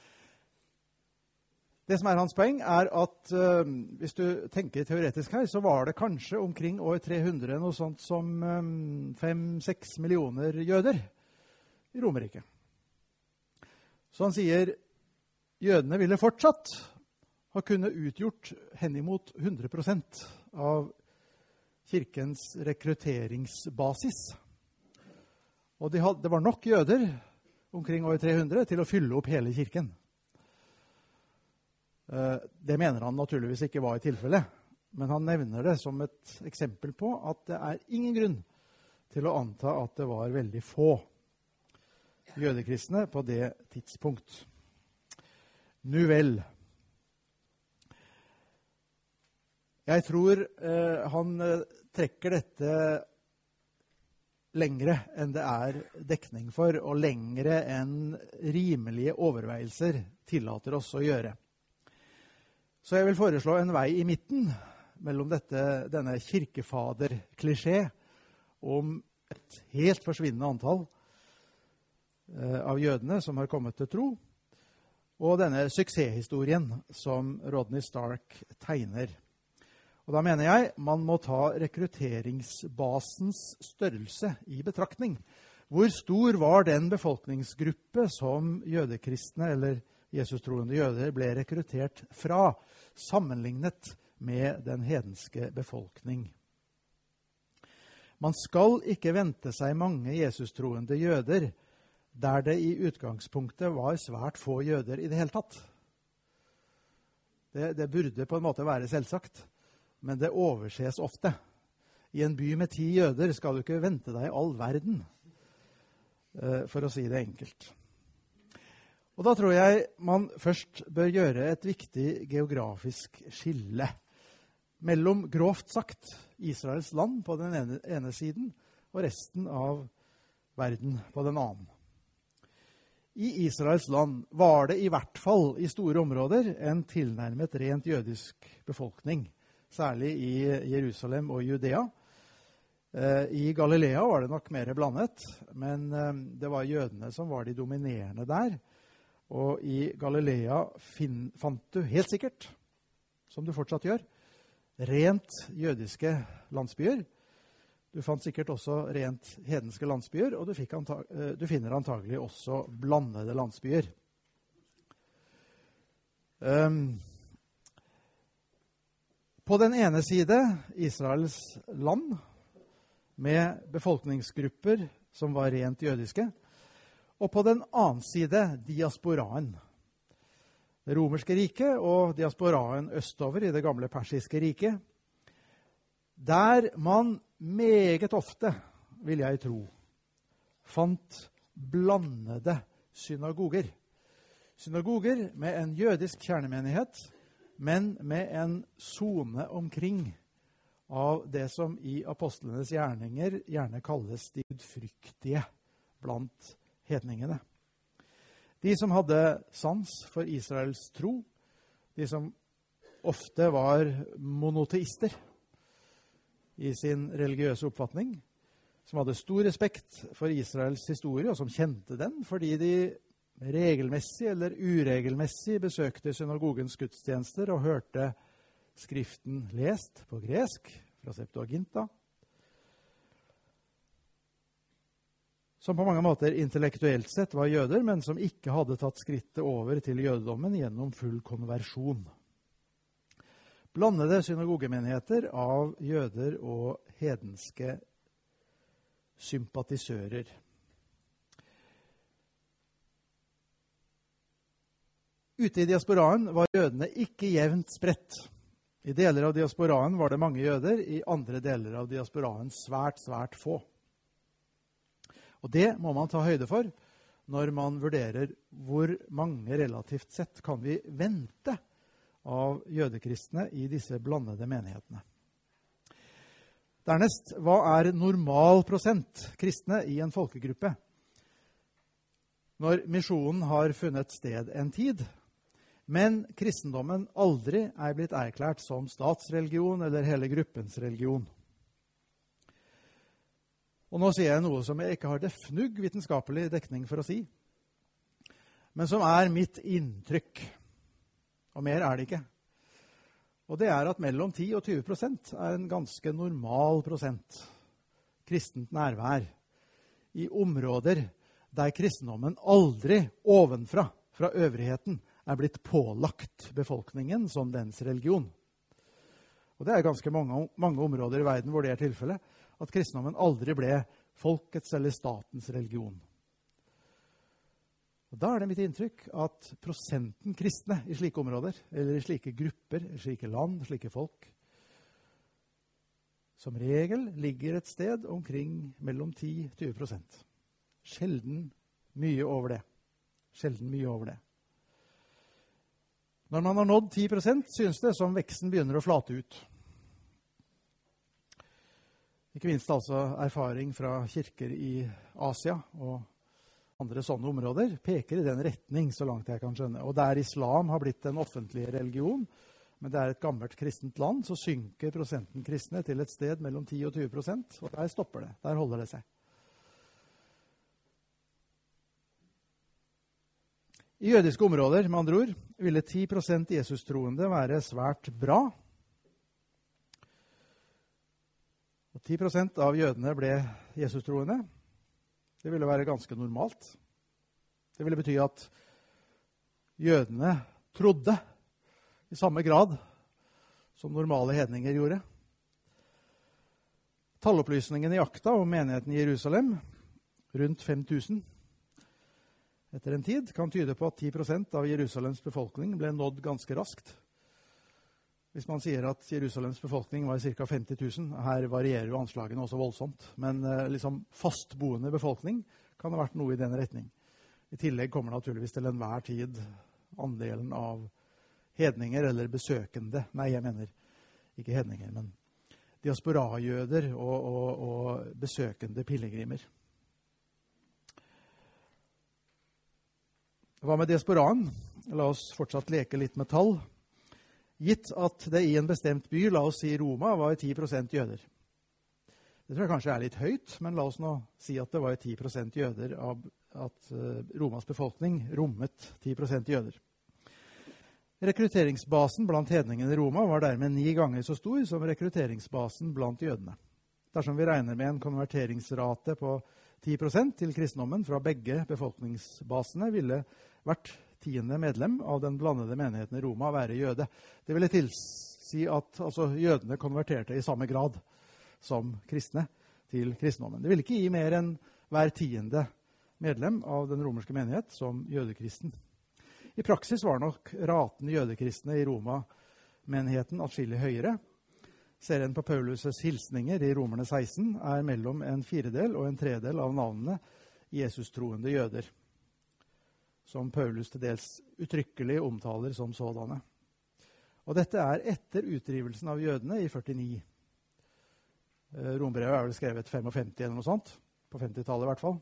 Det som er hans poeng er at hvis du tenker teoretisk her, så var det kanskje omkring år 300 noe sånt som 5-6 millioner jøder i Romerriket. Så han sier jødene ville fortsatt ha kunnet utgjort henimot 100% av kirkens rekrutteringsbasis. Og det var nok jøder omkring år 300 til å fylle opp hele kirken. Det mener han naturligvis ikke var i tilfelle, men han nevner det som et eksempel på at det er ingen grunn til å anta at det var veldig få jødekristne på det tidspunkt. Nu vel. Jeg tror han trekker dette lengre enn det er dekning for, og lengre enn rimelige overveielser tillater oss å gjøre. Så jeg vil foreslå en vei i midten mellom denne kirkefader-klisjé om et helt forsvinnende antall av jødene som har kommet til tro, og denne suksesshistorien som Rodney Stark tegner. Og da mener jeg man må ta rekrutteringsbasens størrelse i betraktning. Hvor stor var den befolkningsgruppe som jødekristne eller Jesus-troende jøder ble rekruttert fra, sammenlignet med den hedenske befolkning? Man skal ikke vente seg mange Jesus-troende jøder der det i utgangspunktet var svært få jøder i det hele tatt. Det burde på en måte være selvsagt, men det overses ofte. I en by med 10 jøder skal du ikke vente deg all verden, for å si det enkelt. Og da tror jeg man først bør gjøre et viktig geografisk skille mellom, grovt sagt, Israels land på den ene siden og resten av verden på den annen. I Israels land var det i hvert fall i store områder en tilnærmet rent jødisk befolkning, særlig i Jerusalem og Judea. I Galilea var det nok mer blandet, men det var jødene som var de dominerende der. Og i Galilea fant du helt sikkert, som du fortsatt gjør, rent jødiske landsbyer. Du fant sikkert også rent hedenske landsbyer, og du finner antagelig også blandede landsbyer. På den ene side Israels land, med befolkningsgrupper som var rent jødiske, og på den annen side diasporaen. Det romerske riket og diasporaen østover i det gamle persiske riket, der man meget ofte, vil jeg tro, fant blandede synagoger. Synagoger med en jødisk kjernemenighet, men med en zone omkring av det som i apostlenes gjerninger gjerne kalles de gudfryktige blant hedningene. De som hadde sans for Israels tro, de som ofte var monoteister i sin religiøse oppfatning, som hadde stor respekt for Israels historie, og som kjente den fordi de regelmessig eller uregelmessig besøkte synagogens gudstjenester og hørte skriften lest på gresk fra Septuaginta, som på mange måter intellektuelt sett var jøder, men som ikke hadde tatt skrittet over til jødedommen gjennom full konversjon. Blandede synagogemenigheter av jøder og hedenske sympatisører. Ute i diasporaen var jødene ikke jevnt spredt. I deler av diasporaen var det mange jøder, i andre deler av diasporaen svært, svært få. Og det må man ta høyde for når man vurderer hvor mange relativt sett kan vi vente av jødekristne i disse blandede menighetene. Dernest, hva er normal prosent kristne i en folkegruppe? når misjonen har funnet sted en tid, men kristendommen aldri er blitt erklært som statsreligion eller hele gruppens religion. Og nå sier jeg noe som jeg ikke har det fnugg vitenskapelig dekning for å si, men som er mitt inntrykk, og mer er det ikke. Og det er at mellom 10 og 20% er en ganske normal prosent kristent nærvær i områder der kristendommen aldri ovenfra, fra øvrigheten, er blitt pålagt befolkningen som dens religion. Og det er ganske mange områder i verden hvor det er tilfellet, at kristendommen aldri ble folkets eller statens religion. Og da er det mitt inntrykk at prosenten kristne i slike områder, eller i slike grupper, i slike land, slike folk, som regel ligger et sted omkring mellom 10-20%. Sjelden mye over det. Sjelden mye over det. Når man har nådd 10%, synes det som veksten begynner å flate ut. Ikke minst altså erfaring fra kirker i Asia og andre sånne områder peker i den retning, så langt jeg kan skjønne. Og der islam har blitt en offentlig religion, men det er et gammelt kristent land, så synker prosenten kristne til et sted mellom 10 og 20%, og der stopper det. Der holder det seg. I jødiske områder, med andre ord, ville 10% Jesus-troende være svært bra. Og 10% av jødene ble Jesus-troende. Det ville være ganske normalt. Det ville bety at jødene trodde i samme grad som normale hedninger gjorde. Tallopplysningen i akta om menigheten i Jerusalem, rundt 5000, etter en tid, kan tyde på at 10% av Jerusalems befolkning ble nådd ganske raskt. Hvis man sier at Jerusalems befolkning var ca. 50 000, her varierer jo anslagene også voldsomt, men liksom fastboende befolkning kan ha vært noe i den retning. I tillegg kommer naturligvis til enhver tid andelen av hedninger eller besøkende, nei, jeg mener ikke hedninger, men diasporajøder og besøkende pillegrimer. Hva med diasporaen? La oss fortsatt leke litt med tall. Gitt at det i en bestemt by, la oss si Roma, var 10% jøder. Det tror jeg kanskje er litt høyt, men la oss nå si at det var 10% jøder av at Romas befolkning rommet 10% jøder. Rekrutteringsbasen blant hedningene i Roma var dermed 9 ganger så stor som rekrutteringsbasen blant jødene. Dersom vi regner med en konverteringsrate på 10% til kristendommen fra begge befolkningsbasene, ville hvert 10. medlem av den blandede menigheten i Roma være jøde. Det ville tilsi at jødene konverterte i samme grad som kristne til kristendommen. Det ville ikke gi mer enn hver 10. medlem av den romerske menighet som jødekristen. I praksis var nok raten jødekristne i Roma-menigheten atskillig høyere. Serien på Paulus' hilsninger i Romerne 16 er mellom en 4/4 og en 3/3 av navnene Jesus-troende jøder, som Paulus til dels uttrykkelig omtaler som sådanne. Og dette er etter utdrivelsen av jødene i 49. Rombrevet er vel skrevet 55 eller noe sånt, på 50-tallet i hvert fall.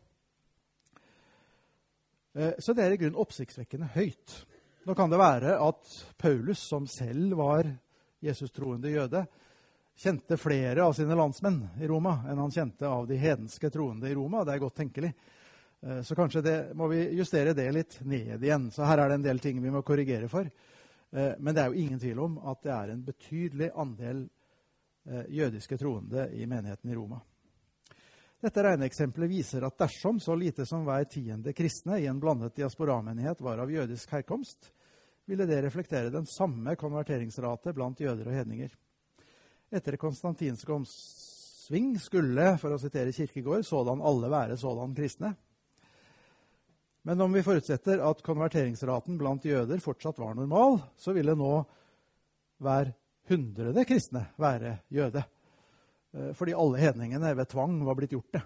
Så det er i grunn oppsiktsvekkende høyt. Nå kan det være at Paulus, som selv var Jesus-troende jøde, kjente flere av sine landsmenn i Roma enn han kjente av de hedenske troende i Roma. Det er godt tenkelig. Så kanskje må vi justere det litt ned igjen. Så her er det en del ting vi må korrigere for. Men det er jo ingen tvil om at det er en betydelig andel jødiske troende i menigheten i Roma. Dette regneeksempelet viser at dersom så lite som hver 10. kristne i en blandet diasporamenighet var av jødisk herkomst, ville det reflektere den samme konverteringsrate blant jøder og hedninger. Etter konstantinsk omsving skulle, for å sitere Kirkegård, sådan alle være sådan kristne. Men om vi forutsetter at konverteringsraten blant jøder fortsatt var normal, så ville nå hver 100. kristne være jøde. Fordi alle hedningene ved tvang var blitt gjort det.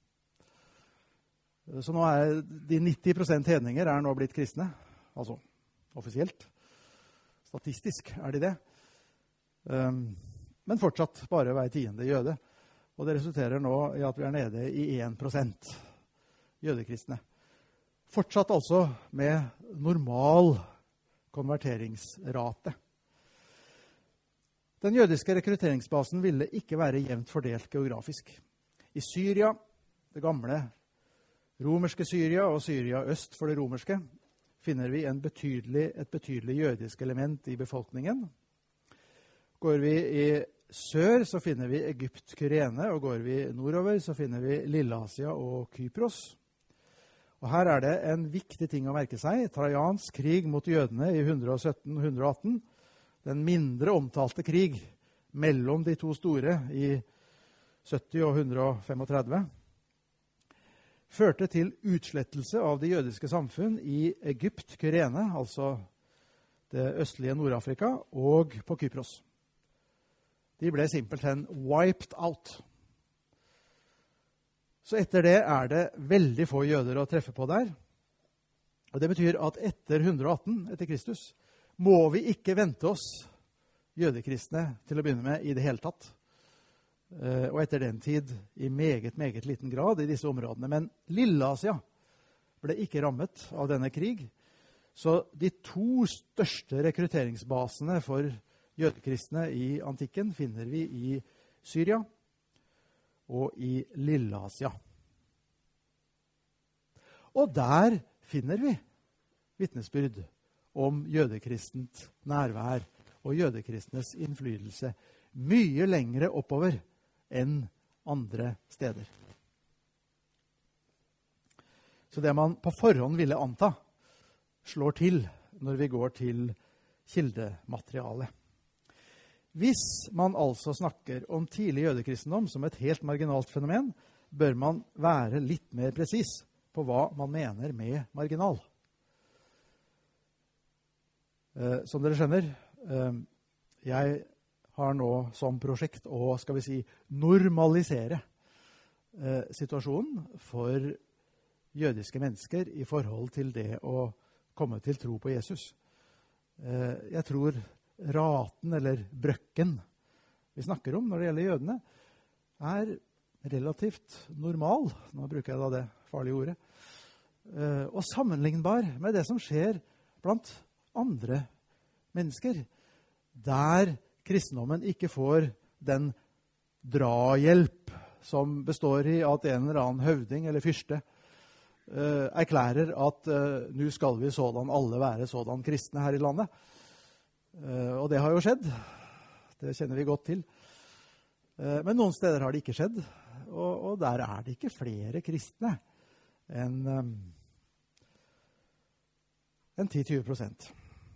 Så nå er de 90% hedninger er nå blitt kristne, altså offisielt. Statistisk er de det. Men fortsatt bare hver 10. jøde. Og det resulterer nå i at vi er nede i 1% jødekristne. Fortsatt altså med normal konverteringsrate. Den jødiske rekrutteringsbasen ville ikke være jevnt fordelt geografisk. I Syria, det gamle romerske Syria og Syria øst for det romerske, finner vi et betydelig jødisk element i befolkningen. Går vi i sør, så finner vi Egypt, Kyrene, og går vi nordover, så finner vi Lilleasia og Kypros. Og her er det en viktig ting å merke seg. Trajans krig mot jødene i 117-118, den mindre omtalte krig mellom de to store i 70 og 135, førte til utslettelse av det jødiske samfunn i Egypt, Kyrene, altså det østlige Nord-Afrika, og på Kypros. De ble simpelthen wiped out. Så etter det er det veldig få jøder å treffe på der. Og det betyr at etter 118 etter Kristus må vi ikke vente oss jødekristne til å begynne med i det hele tatt. Og etter den tid i meget liten grad i disse områdene. Men Lilleasia ble ikke rammet av denne krig. Så de to største rekrutteringsbasene for jødekristne i antikken finner vi i Syria og i Lilleasia. Og der finner vi vitnesbyrd om jødekristent nærvær og jødekristnes innflytelse mye lengre oppover enn andre steder. Så det man på forhånd ville anta, slår til når vi går til kildematerialet. Hvis man altså snakker om tidlig jødekristendom som et helt marginalt fenomen, bør man være litt mer presis på hva man mener med marginal. Som dere skjønner, jeg har nå som prosjekt å, skal vi si, normalisere situasjonen for jødiske mennesker i forhold til det å komme til tro på Jesus. Jeg tror raten eller brøkken vi snakker om når det gjelder jødene, er relativt normal, nå bruker jeg da det farlige ordet, og sammenlignbar med det som skjer blant andre mennesker, der kristendommen ikke får den drahjelp som består i at en eller annen høvding eller fyrste erklærer at nå skal vi sådan alle være sådan kristne her i landet. Og det har jo skjedd. Det kjenner vi godt til. Men noen steder har det ikke skjedd, og der er det ikke flere kristne enn 10-20%.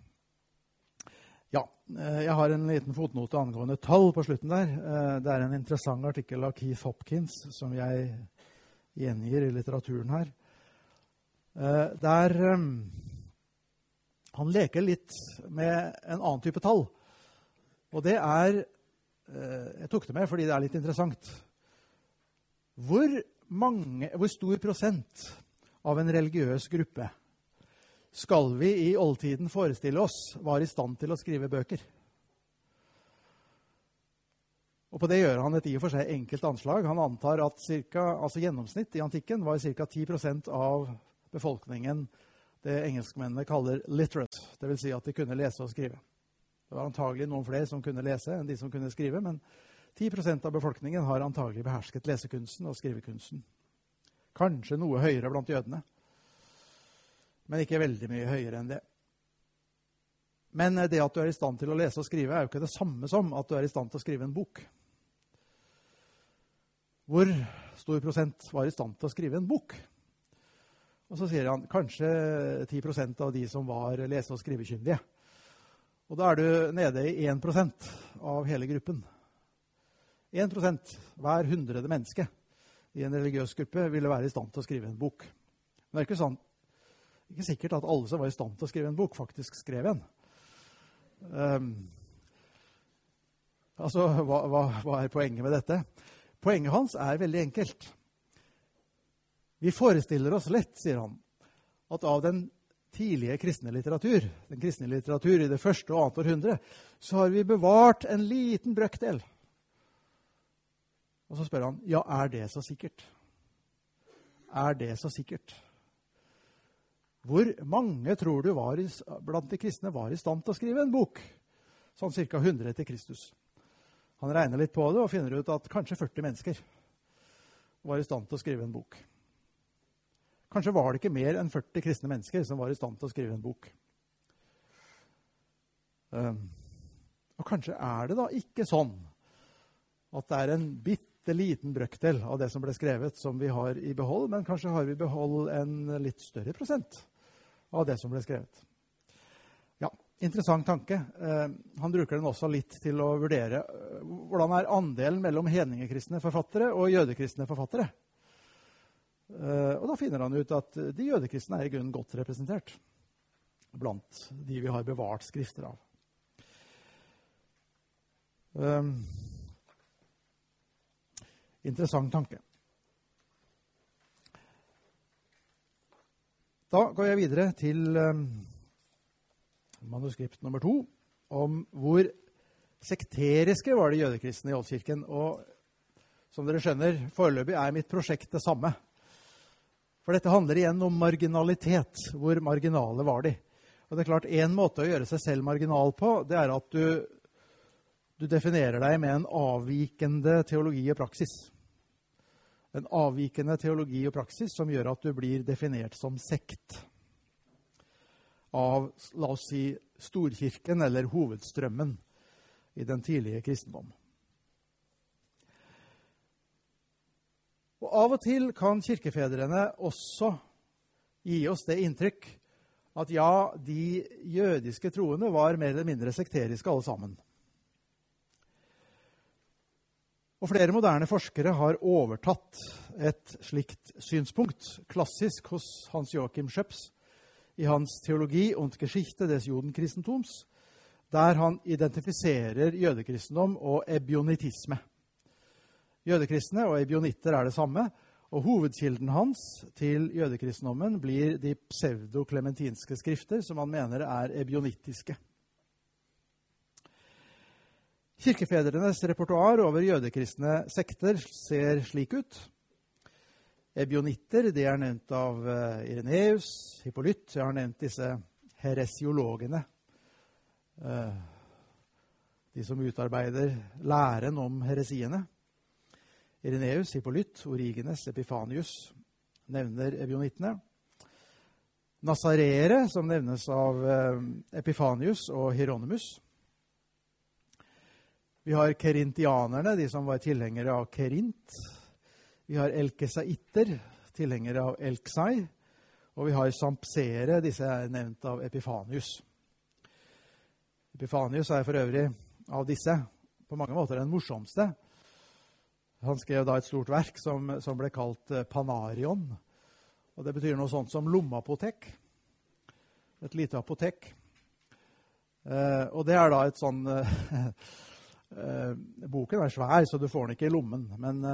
Ja, jeg har en liten fotnote angående tall på slutten der. Det er en interessant artikkel av Keith Hopkins som jeg gjengir i litteraturen her. Der han leker litt med en annen type tall. Og det er, jeg tok det med fordi det er litt interessant. Hvor stor prosent av en religiøs gruppe skal vi i oldtiden forestille oss var i stand til å skrive bøker? Og på det gjør han et i og for seg enkelt anslag. Han antar at gjennomsnitt i antikken var ca. 10% av befolkningen det engelskmennene kaller literate, det vil si at de kunne lese og skrive. Det var antagelig noen flere som kunne lese enn de som kunne skrive, men 10% av befolkningen har antagelig behersket lesekunsten og skrivekunsten. Kanskje noe høyere blant jødene, men ikke veldig mye høyere enn det. Men det at du er i stand til å lese og skrive er jo ikke det samme som at du er i stand til å skrive en bok. Hvor stor prosent var i stand til å skrive en bok? Og så sier han kanskje 10% av de som var lese- og skrivekyndige. Og da er du nede i 1% av hele gruppen. 1%, hver 100. menneske i en religiøs gruppe ville være i stand til å skrive en bok. Men det er ikke sikkert at alle som var i stand til å skrive en bok faktisk skrev en. Hva er poenget med dette? Poenget hans er veldig enkelt. Vi forestiller oss lett, sier han, at av den tidlige kristne litteratur, den kristne litteratur i det første og annet århundre, så har vi bevart en liten brøkdel. Og så spør han, ja, er det så sikkert? Er det så sikkert? Hvor mange tror du blant de kristne var i stand til å skrive en bok? Sånn ca. 100 etter Kristus. Han regner litt på det og finner ut at kanskje 40 mennesker var i stand til å skrive en bok. Kanskje var det ikke mer enn 40 kristne mennesker som var i stand til å skrive en bok. Og kanskje det da ikke sånn at det en bitte liten brøkdel av det som ble skrevet som vi har i behold, men kanskje har vi i behold en litt større prosent av det som ble skrevet. Ja, interessant tanke. Han bruker den også litt til å vurdere hvordan andelen mellom hedningekristne forfattere og jødekristne forfattere. Og da finner han ut at de jødekristne i grunnen godt representert blant de vi har bevart skrifter av. Interessant tanke. Da går jeg videre til manuskript nummer 2, om hvor sekteriske var de jødekristne i Oldkirken. Og som dere skjønner, foreløpig mitt prosjekt det samme. For dette handler igjen om marginalitet. Hvor marginale var de? Og det klart, en måte å gjøre seg selv marginal på, det at du definerer deg med en avvikende teologi og praksis. En avvikende teologi og praksis som gjør at du blir definert som sekt av, la oss si, storkirken eller hovedstrømmen i den tidlige kristendom. Og av og til kan kirkefedrene også gi oss det inntrykk at ja, de jødiske troende var mer eller mindre sekteriske alle sammen. Og flere moderne forskere har overtatt et slikt synspunkt, klassisk hos Hans Joachim Schöps, i hans teologi und Geschichte des Judenkristentums, der han identifiserer jødekristendom og ebionitisme. Jødekristne og ebionitter det samme, og hovedkilden hans til jødekristendommen blir de pseudoklementinske skrifter, som han mener ebionittiske. Kirkefedrenes repertoar over jødekristne sekter ser slik ut. Ebionitter, det nevnt av Ireneus, Hippolyt. Jeg har nevnt disse heresiologene. De som utarbeider læren om heresiene. Ireneus, Hippolyt, Origenes, Epifanius nevner ebionittene. Nazareere, som nevnes av Epifanius og Hieronymus. Vi har kerintianerne, de som var tilhengere av Kerint. Vi har elkesaitter, tilhengere av Elksai. Og vi har sampsere, disse nevnt av Epifanius. Epifanius for øvrig av disse på mange måter den morsomste. Han skrev da et stort verk som ble kalt Panarion. Og det betyr noe sånt som lommeapotek. Et lite apotek. Og det da et sånn... boken svær, så du får den ikke i lommen.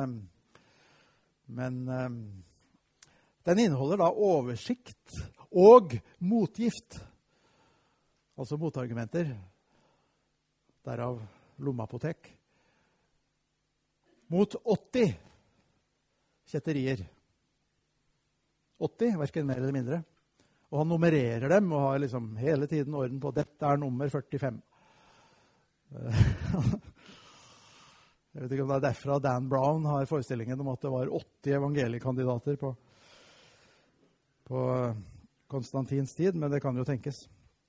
Men den inneholder da oversikt og motgift. Altså motargumenter. Derav lommeapotek. Mot 80 kjetterier. 80, hverken mer eller mindre. Og han nummererer dem og har liksom hele tiden orden på dette nummer 45. Jeg vet ikke om det derfra Dan Brown har forestillingen om at det var 80 evangeliekandidater på Konstantins tid, men det kan jo tenkes.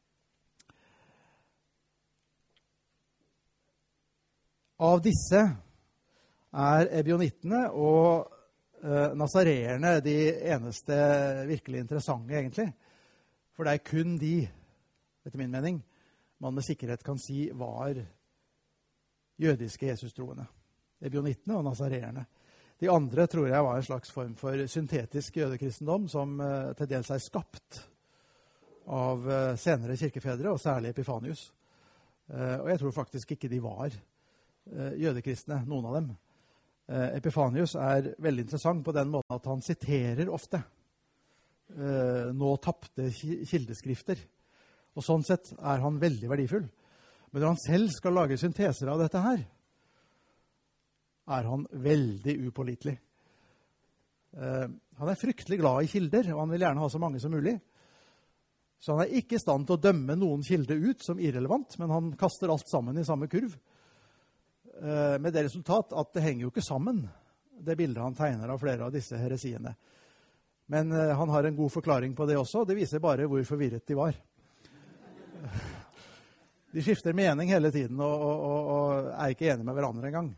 Av disse ebionittene og nazareerne de eneste virkelig interessante egentlig. For det kun de, etter min mening, man med sikkerhet kan si var jødiske Jesus-troende. Ebionittene og nazareerne. De andre tror jeg var en slags form for syntetisk jødekristendom som til dels skapt av senere kirkefedre, og særlig Epifanius. Og jeg tror faktisk ikke de var jødekristne, noen av dem. Epifanius veldig interessant på den måten at han siterer ofte nå tapte kildeskrifter. Og sånn sett han veldig verdifull. Men når han selv skal lage synteser av dette her, han veldig upålitelig. Han fryktelig glad i kilder, og han vil gjerne ha så mange som mulig. Så han ikke i stand til å dømme noen kilde ut som irrelevant, men han kaster alt sammen i samme kurv. Med det resultat at det henger jo ikke sammen, det bildet han tegner av flere av disse heresiene. Men han har en god forklaring på det også, det viser bare hvor forvirret de var. De skifter mening hele tiden og er ikke enige med hverandre engang.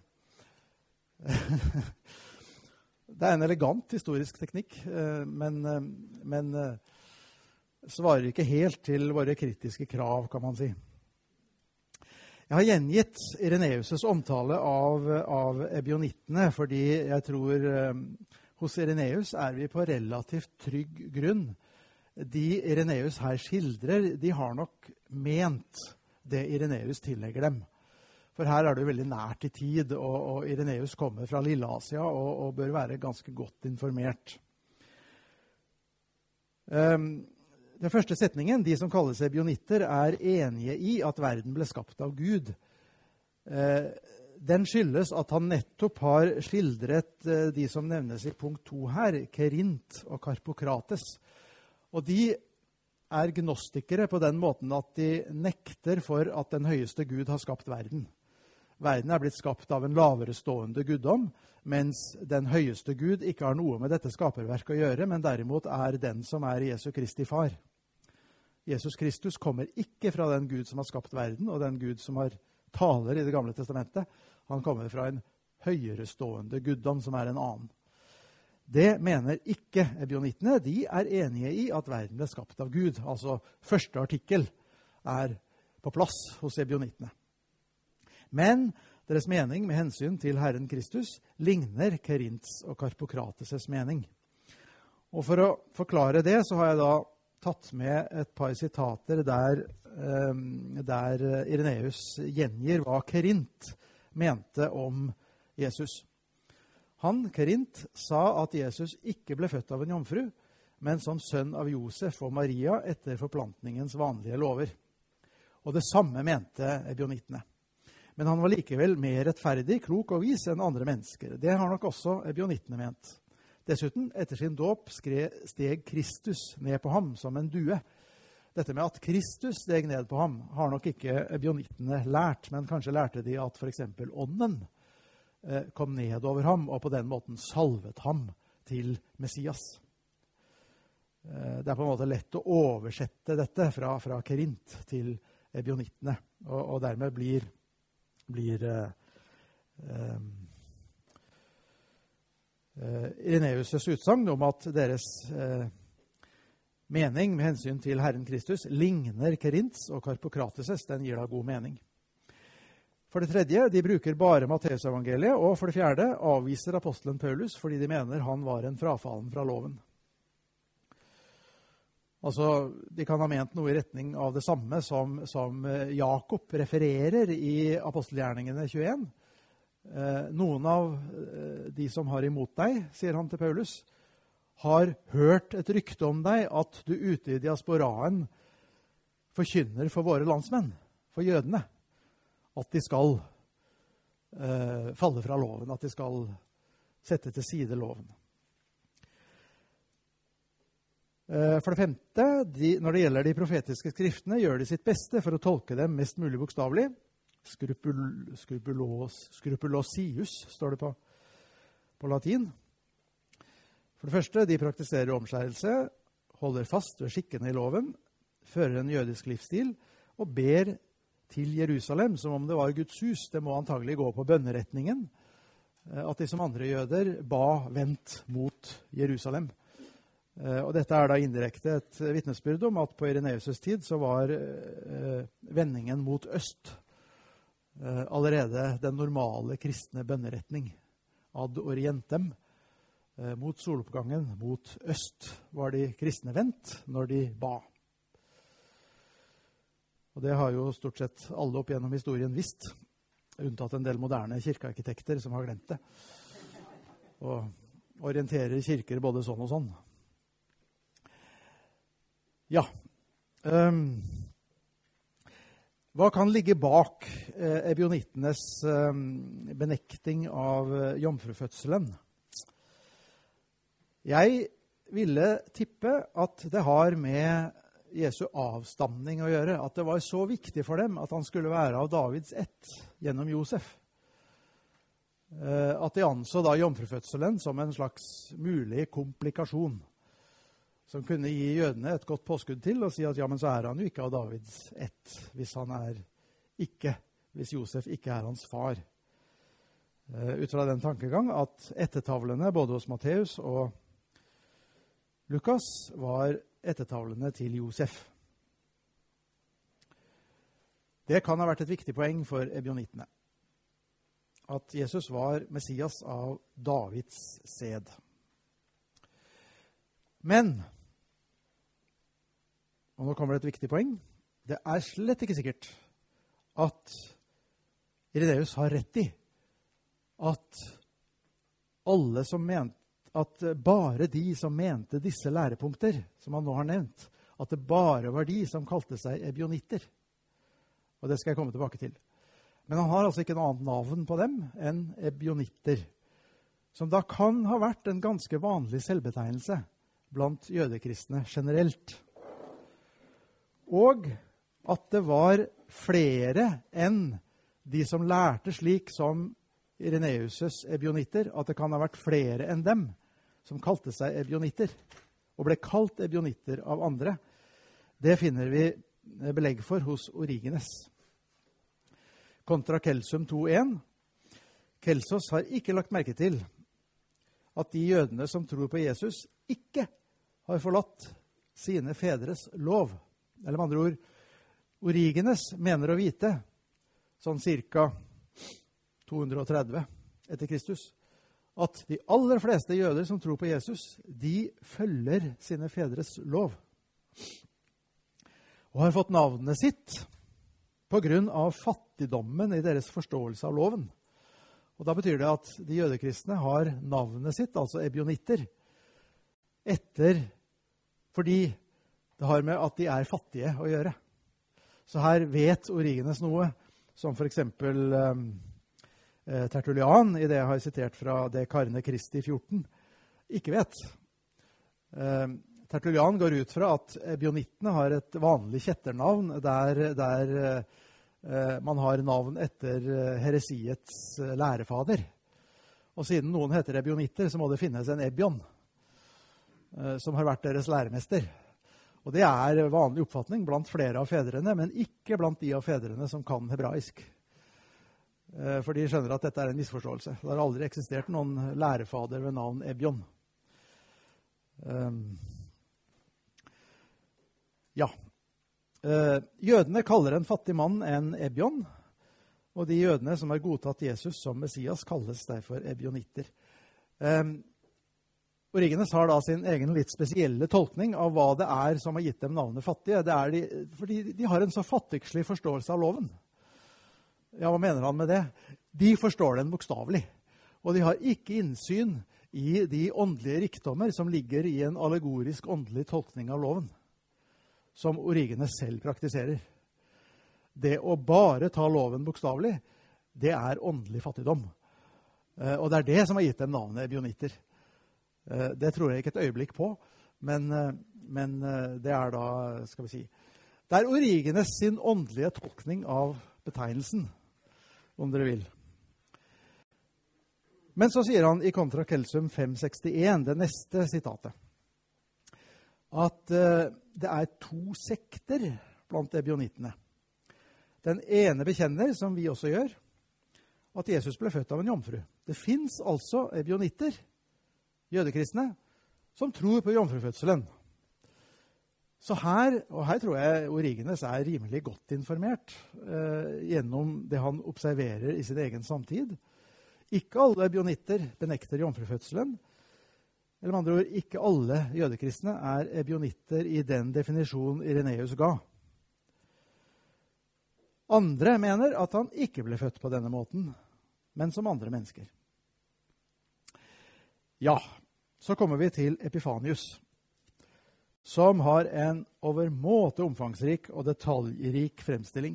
Det er en elegant historisk teknikk, men svarer ikke helt til våre kritiske krav, kan man si. Jeg har gjengitt Irenaeus' omtale av ebionittene, fordi jeg tror hos Irenaeus er vi på relativt trygg grunn. De Irenaeus her skildrer, de har nok ment det Irenaeus tillegger dem. For her er det jo veldig nært i tid, og Irenaeus kommer fra Lilleasia og bør være ganske godt informert. Den første setningen, de som kalles ebionitter, er enige i at verden ble skapt av Gud. Den skyldes at han nettopp har skildret de som nevnes i punkt 2 her, Kerint og Karpokrates. Og de er gnostikere på den måten at de nekter for at den høyeste Gud har skapt verden. Verden er blitt skapt av en lavere stående guddom, mens den høyeste Gud ikke har noe med dette skaperverket å gjøre, men derimot er den som er Jesu Kristi far. Jesus Kristus kommer ikke fra den Gud som har skapt verden, og den Gud som taler i Det gamle testamentet. Han kommer fra en høyere stående guddom som er en annen. Det mener ikke ebionittene. De er enige i at verden ble skapt av Gud. Altså første artikkel er på plass hos ebionittene. Men deres mening med hensyn til Herren Kristus ligner Kerints og Karpokrates' mening. Og for å forklare det så har jeg da tatt med et par sitater der Irenaeus gjengir hva Kerint mente om Jesus. Han, Kerint, sa at Jesus ikke ble født av en jomfru, men som sønn av Josef og Maria etter forplantningens vanlige lover. Og det samme mente ebionittene. Men han var likevel mer rettferdig, klok og vis enn andre mennesker. Det har nok også ebionittene ment. Dessuten, etter sin dåp steg Kristus ned på ham som en due. Dette med at Kristus steg ned på ham har nok ikke ebionittene lært, men kanskje lærte de at for eksempel ånden kom ned over ham, og på den måten salvet ham til Messias. Det er på en måte lett å oversette dette fra Kerint til ebionittene, og dermed blir Irenaeus' utsagn om at deres mening med hensyn til Herren Kristus ligner Kerints og Karpokrates', den gir da god mening. For det tredje, de bruker bare Matteusevangeliet, og for det fjerde avviser apostelen Paulus fordi de mener han var en frafallen fra loven. Altså, de kan ha ment noe i retning av det samme som Jakob refererer i apostelgjerningene 21. Noen av de som har imot deg, sier han til Paulus, har hørt et rykte om deg at du ute i diasporaen forkynner for våre landsmenn, for jødene, at de skal falle fra loven, at de skal sette til side loven. For det femte, når det gjelder de profetiske skriftene, gjør de sitt beste for å tolke dem mest mulig bokstavelig. Scrupulosius står det på latin. For det første, de praktiserer omskjærelse, holder fast ved skikkene i loven, fører en jødisk livsstil og ber til Jerusalem som om det var Guds hus. Det må antagelig gå på bønneretningen, at de som andre jøder ba vendt mot Jerusalem. Og dette er da indirekte et vitnesbyrd om at på Irenaeus' tid så var vendingen mot øst allerede den normale kristne bønneretning. Ad orientem, mot soloppgangen, mot øst, var de kristne vendt når de ba. Og det har jo stort sett alle opp gjennom historien visst, unntatt en del moderne kirkearkitekter som har glemt det. Og orienterer kirker både sånn og sånn. Ja, hva kan ligge bak ebionittenes benekting av jomfrufødselen? Jeg ville tippe at det har med Jesu avstamning å gjøre, at det var så viktig for dem at han skulle være av Davids ett gjennom Josef. At de anså da jomfrufødselen som en slags mulig komplikasjon, som kunne gi jødene et godt påskudd til og si at ja, men så er han jo ikke av Davids ett, hvis Josef ikke er hans far. Ut fra den tankegang at ettertavlene både hos Matteus og Lukas var ettertavlene til Josef. Det kan ha vært et viktig poeng for ebionittene, at Jesus var Messias av Davids sæd. Men, og nå kommer det et viktig poeng, det er slett ikke sikkert at Irenaeus har rett i at bare de som mente disse lærepunkter, som han nå har nevnt, at det bare var de som kalte seg ebionitter. Og det skal jeg komme tilbake til. Men han har altså ikke noe annet navn på dem enn ebionitter, som da kan ha vært en ganske vanlig selvbetegnelse blant jødekristne generelt. Og at det var flere enn de som lærte slik som Irenaeus' ebionitter, at det kan ha vært flere enn dem som kalte seg ebionitter, og ble kalt ebionitter av andre. Det finner vi belegg for hos Origenes. Kontra Kelsum 2.1. Kelsos har ikke lagt merke til at de jødene som tror på Jesus ikke har forlatt sine fedres lov. Eller med andre ord, Origenes mener å vite, sånn cirka 230 etter Kristus, at de aller fleste jøder som tror på Jesus, de følger sine fedres lov. Og har fått navnet sitt på grunn av fattigdommen i deres forståelse av loven. Og da betyr det at de jødekristne har navnet sitt, altså ebionitter, fordi det har med at de er fattige å gjøre. Så her vet Origenes noe, som for eksempel Tertullian, i det jeg har sitert fra det Karne Kristi 14, ikke vet. Tertullian går ut fra at ebionittene har et vanlig kjetternavn der man har navn etter heresiets lærefader. Og siden noen heter ebionitter, så må det finnes en ebion som har vært deres læremester. Og det er vanlig oppfatning blant flere av fedrene, men ikke blant de av fedrene som kan hebraisk. For de skjønner at dette er en misforståelse. Det har aldri eksistert noen lærefader ved navn Ebion. Jødene kaller en fattig mann en Ebion, og de jødene som har godtatt Jesus som Messias kalles derfor ebionitter. Origenes har da sin egen litt spesielle tolkning av hva det er som har gitt dem navnet fattige. Det er fordi de har en så fattigslig forståelse av loven. Ja, hva mener han med det? De forstår den bokstavelig, og de har ikke innsyn i de åndelige rikdommer som ligger i en allegorisk åndelig tolkning av loven, som Origenes selv praktiserer. Det å bare ta loven bokstavelig, det er åndelig fattigdom. Og det er det som har gitt dem navnet ebionitter. Det tror jeg ikke et øyeblikk på, men det er da, skal vi si, det er Origenes sin åndelige tolkning av betegnelsen, om dere vil. Men så sier han i Kontra Kelsum 561, det neste sitatet, at det er 2 sekter blant ebionittene. Den ene bekjenner, som vi også gjør, at Jesus ble født av en jomfru. Det finnes altså ebionitter, jødekristne, som tror på jomfrufødselen. Så her tror jeg Origenes er rimelig godt informert gjennom det han observerer i sin egen samtid. Ikke alle ebionitter benekter jomfrufødselen, eller med andre ord, ikke alle jødekristne er ebionitter i den definisjonen Irenaeus ga. Andre mener at han ikke ble født på denne måten, men som andre mennesker. Ja, så kommer vi til Epifanius, som har en overmåte omfangsrik og detaljrik fremstilling.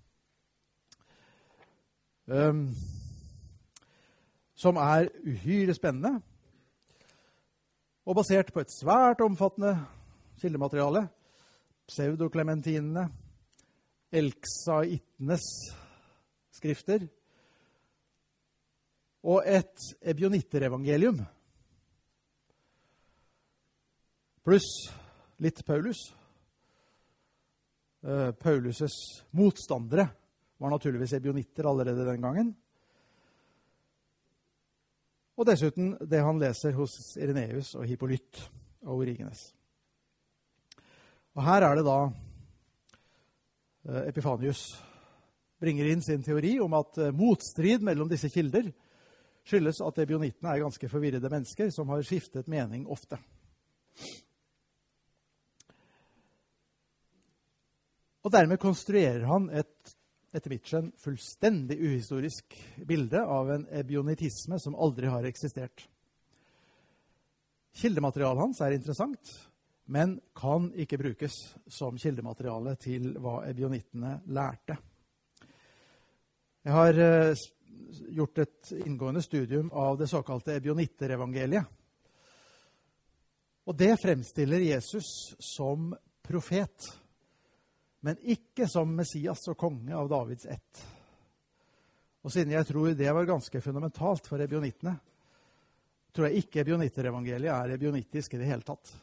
Som er uhyre spennende, og basert på et svært omfattende kildemateriale, pseudoklementinene, elksaitenes skrifter, og et ebionitterevangelium, pluss litt Paulus. Paulus' motstandere var naturligvis ebionitter allerede den gangen. Og dessuten det han leser hos Ireneus og Hippolyt og Origenes. Og her er det da Epifanius bringer inn sin teori om at motstrid mellom disse kilder skyldes at ebionittene er ganske forvirrede mennesker som har skiftet mening ofte. Og dermed konstruerer han etter mitt skjønn, fullstendig uhistorisk bilde av en ebionittisme som aldri har eksistert. Kildematerialet hans er interessant, men kan ikke brukes som kildemateriale til hva ebionittene lærte. Jeg har gjort et inngående studium av det såkalte ebionitterevangeliet. Og det fremstiller Jesus som profet, men ikke som Messias og konge av Davids ett. Og siden jeg tror det var ganske fundamentalt for ebionittene, tror jeg ikke ebionitterevangeliet er ebionittisk i det hele tatt.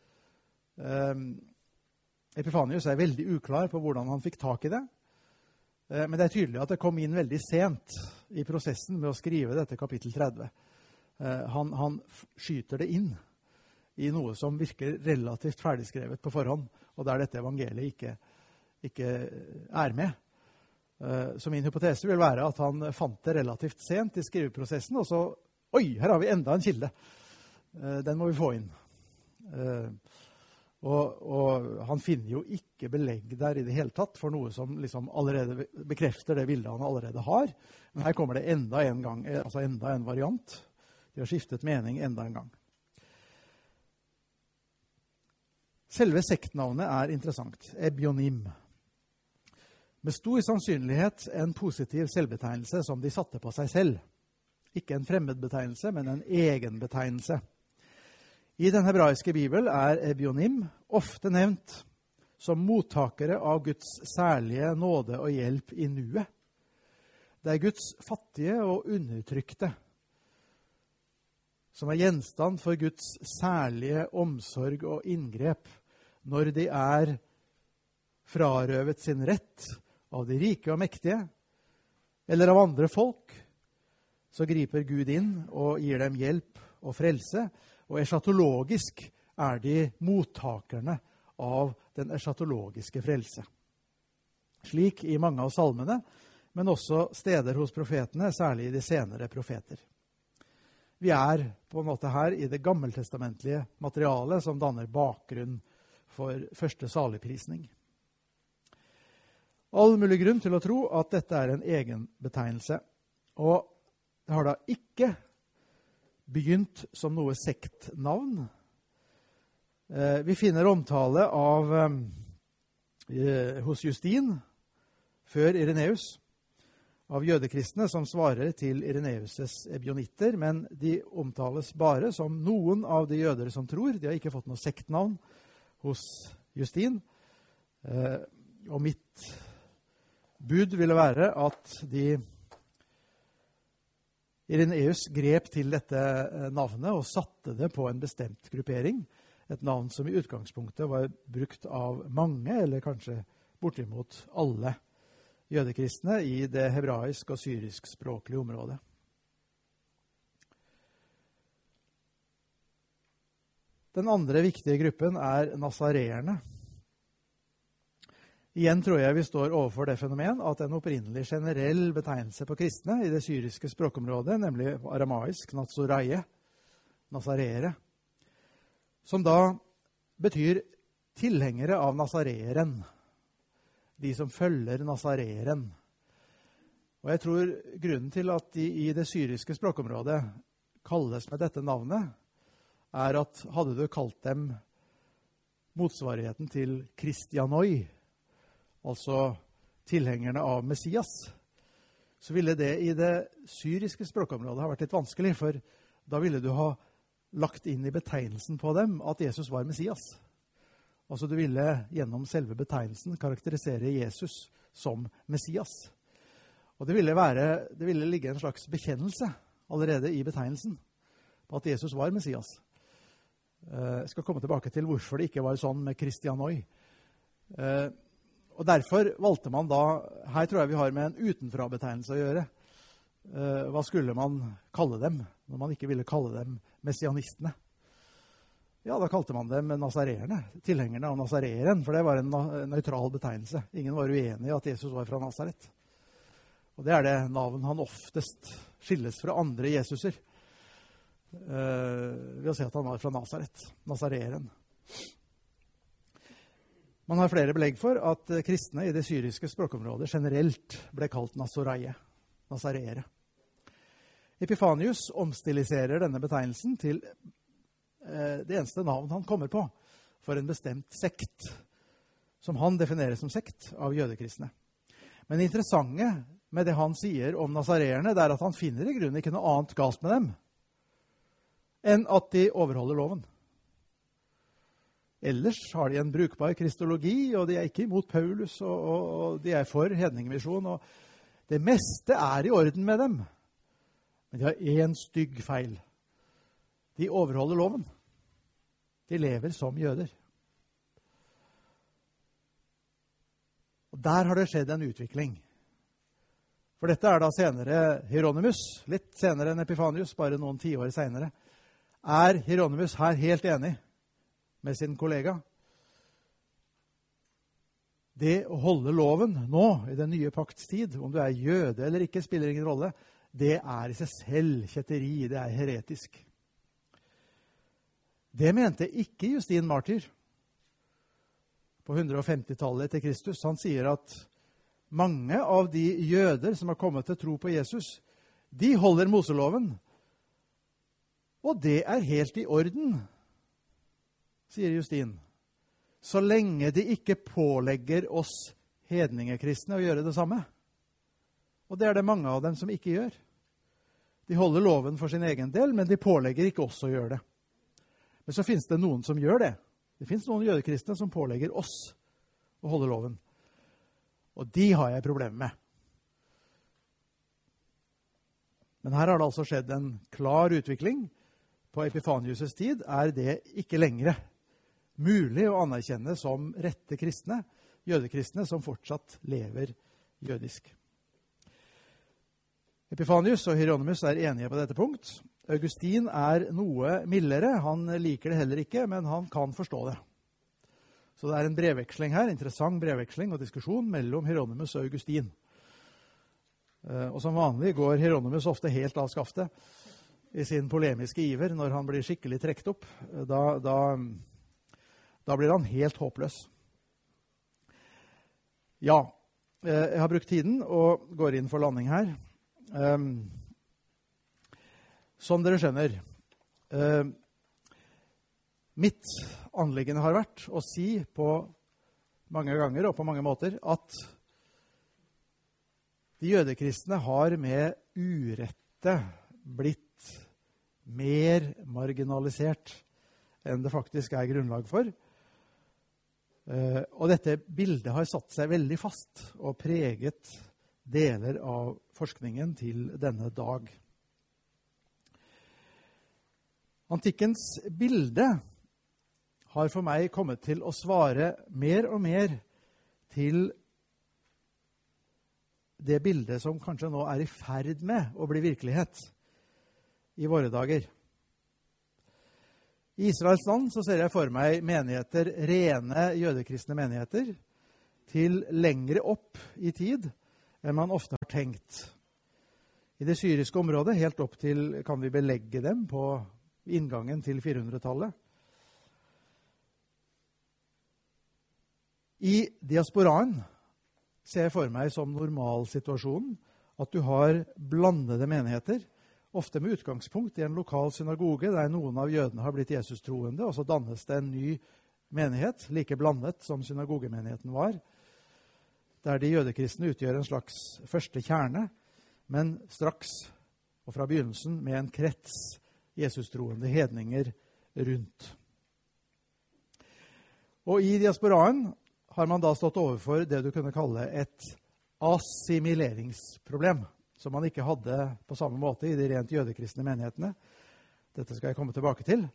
Epifanius er veldig uklar på hvordan han fikk tak i det, men det er tydelig at det kom inn veldig sent i prosessen med å skrive dette kapittel 30. Han skyter det inn i noe som virker relativt ferdigskrevet på forhånd, og der dette evangeliet ikke er med. Så min hypotese vil være at han fant det relativt sent i skriveprosessen, og så, oi, her har vi enda en kilde. Den må vi få inn. Og han finner jo ikke belegg der i det hele tatt for noe som liksom allerede bekrefter det bildet han allerede har. Men her kommer det enda en variant. De har skiftet mening enda en gang. Selve sektnavnet er interessant. Ebionim. Med stor sannsynlighet en positiv selvbetegnelse som de satte på seg selv. Ikke en fremmedbetegnelse, men en egenbetegnelse. I den hebraiske Bibel er ebionim ofte nevnt som mottakere av Guds særlige nåde og hjelp i nuet. Det er Guds fattige og undertrykte som er gjenstand for Guds særlige omsorg og inngrep når de er frarøvet sin rett av de rike og mektige, eller av andre folk, så griper Gud inn og gir dem hjelp og frelse, og eschatologisk er de mottakerne av den eschatologiske frelse. Slik i mange av salmene, men også steder hos profetene, særlig i de senere profeter. Vi er på en måte her i det gammeltestamentlige materialet som danner bakgrunn for første saligprisning. All mulig grunn til å tro at dette er en egen betegnelse, og det har da ikke begynt som noe sektnavn. Vi finner omtale av hos Justin, før Ireneus, av jødekristne som svarer til Ireneus' ebionitter, men de omtales bare som noen av de jøder som tror. De har ikke fått noe sektnavn hos Justin. Og mitt bud ville være at Ireneus grep til dette navnet og satte det på en bestemt gruppering. Et navn som i utgangspunktet var brukt av mange, eller kanskje bortimot alle jødekristne i det hebraisk- og syrisk-språklige området. Den andre viktige gruppen er nasareerne. Igjen tror jeg vi står overfor det fenomen at en opprinnelig generell betegnelse på kristne i det syriske språkområdet, nemlig aramaisk natsoraie, nasareere, som da betyr tilhengere av nasareeren, de som følger nasareeren. Og jeg tror grunnen til at de i det syriske språkområdet kalles med dette navnet, er at hadde du kalt dem motsvarigheten til kristianoi, altså tilhengerne av Messias, så ville det i det syriske språkområdet ha vært litt vanskelig, for da ville du ha lagt inn i betegnelsen på dem at Jesus var Messias. Altså du ville gjennom selve betegnelsen karakterisere Jesus som Messias. Og det ville ligge en slags bekjennelse allerede i betegnelsen på at Jesus var Messias. Jeg skal komme tilbake til hvorfor det ikke var sånn med Kristianoi. Og derfor valgte man da, her tror jeg vi har med en utenfra-betegnelse å gjøre. Hva skulle man kalle dem når man ikke ville kalle dem messianistene? Ja, da kalte man dem nasareerne, tilhengerne av Nazareren, for det var en nøytral betegnelse. Ingen var uenig i at Jesus var fra Nazaret. Og det er det navn han oftest skilles fra andre Jesuser. Ved å si at han var fra Nazaret, Nazareren. Man har flere belegg for at kristne i det syriske språkområdet generelt ble kalt nasareere. Epifanius omstiliserer denne betegnelsen til det eneste navn han kommer på for en bestemt sekt, som han definerer som sekt av jødekristne. Men det interessante med det han sier om nasareerne, det er at han finner i grunnen ikke noe annet galt med dem enn at de overholder loven. Ellers har de en brukbar kristologi, og de er ikke imot Paulus, og de er for hedningemisjon, og det meste er i orden med dem. Men de har en stygg feil. De overholder loven. De lever som jøder. Og der har det skjedd en utvikling. For dette er da senere Hieronymus, litt senere enn Epifanius, bare noen tiår senere. Er Hieronymus her helt enig med sin kollega? Det å holde loven nå, i den nye pakts tid, om du er jøde eller ikke, spiller ingen rolle, det er i seg selv kjetteri, det er heretisk. Det mente ikke Justin Martyr på 150-tallet etter Kristus. Han sier at mange av de jøder som har kommet til tro på Jesus, de holder Moseloven. Og det er helt i orden, sier Justin. Så lenge de ikke pålegger oss hedningekristne å gjøre det samme. Og det er det mange av dem som ikke gjør. De holder loven for sin egen del, men de pålegger ikke oss å gjøre det. Men så finnes det noen som gjør det. Det finnes noen jødekristne som pålegger oss å holde loven. Og de har jeg problemer med. Men her har det altså skjedd en klar utvikling. På Epifanius' tid er det ikke lenger mulig å anerkjenne som rette kristne, jødekristne som fortsatt lever jødisk. Epifanius og Hieronymus er enige på dette punkt. Augustin er noe mildere. Han liker det heller ikke, men han kan forstå det. Så det er en brevveksling her, interessant brevveksling og diskusjon mellom Hieronymus og Augustin. Og som vanlig går Hieronymus ofte helt av skaftet i sin polemiske iver når han blir skikkelig trekt opp. Da blir han helt håpløs. Ja, jeg har brukt tiden og går inn for landing her. Som dere skjønner, mitt anliggende har vært å si på mange ganger og på mange måter at de jødekristne har med urette blitt mer marginalisert enn det faktisk er grunnlag for. Og dette bildet har satt seg veldig fast og preget deler av forskningen til denne dag. Antikkens bilde har for meg kommet til å svare mer og mer til det bildet som kanskje nå er i ferd med å bli virkelighet i våre dager. I Israels land så ser jeg for meg menigheter, rene jødekristne menigheter, til lengre opp i tid enn man ofte har tenkt. I det syriske området, helt opp til, kan vi belegge dem på inngangen til 400-tallet. I diasporaen ser jeg for meg som normalsituasjonen at du har blandede menigheter, ofte med utgangspunkt i en lokal synagoge der noen av jødene har blitt Jesus-troende, og så dannes det en ny menighet, like blandet som synagogemenigheten var, der de jødekristne utgjør en slags første kjerne, men straks og fra begynnelsen med en krets Jesus-troende hedninger rundt. Og i diasporaen har man da stått overfor det du kunne kalle et assimileringsproblem, som man ikke hadde på samme måte i de rent jødekristne menighetene. Dette skal jeg komme tilbake til.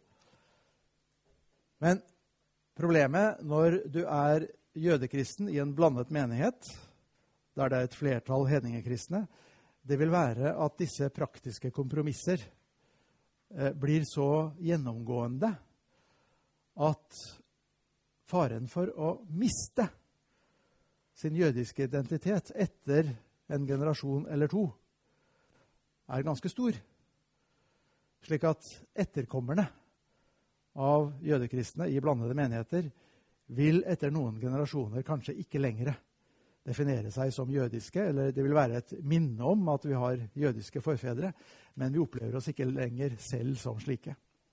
Men problemet når du er jødekristen i en blandet menighet, der det er et flertall hedningekristne, det vil være at disse praktiske kompromisser blir så gjennomgående at faren for å miste sin jødiske identitet etter en generasjon eller to er ganske stor. Slik at etterkommerne av jødekristne i blandede menigheter vil etter noen generasjoner kanskje ikke lenger definere seg som jødiske, eller det vil være et minne om at vi har jødiske forfedre, men vi opplever oss ikke lenger selv som slike.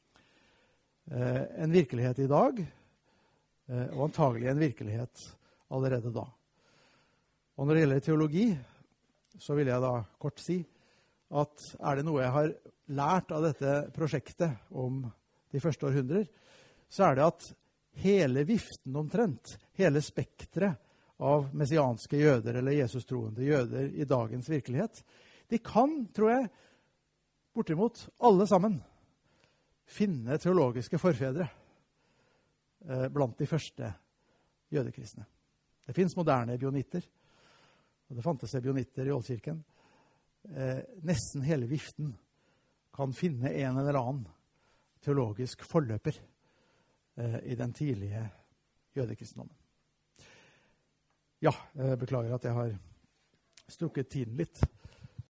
En virkelighet i dag, og antagelig en virkelighet allerede da. Og når det gjelder teologi, så vil jeg da kort si at er det noe jeg har lært av dette prosjektet om de første århundrer, så er det at hele viften omtrent, hele spektret av messianske jøder eller Jesus-troende jøder i dagens virkelighet, de kan, tror jeg, bortimot alle sammen finne teologiske forfedre blant de første jødekristne. Det finnes moderne ebionitter, og det fantes ebionitter i Oldkirken. Nesten hele viften kan finne en eller annen teologisk forløper i den tidlige jødekristendommen. Ja, jeg beklager at jeg har strukket tiden litt.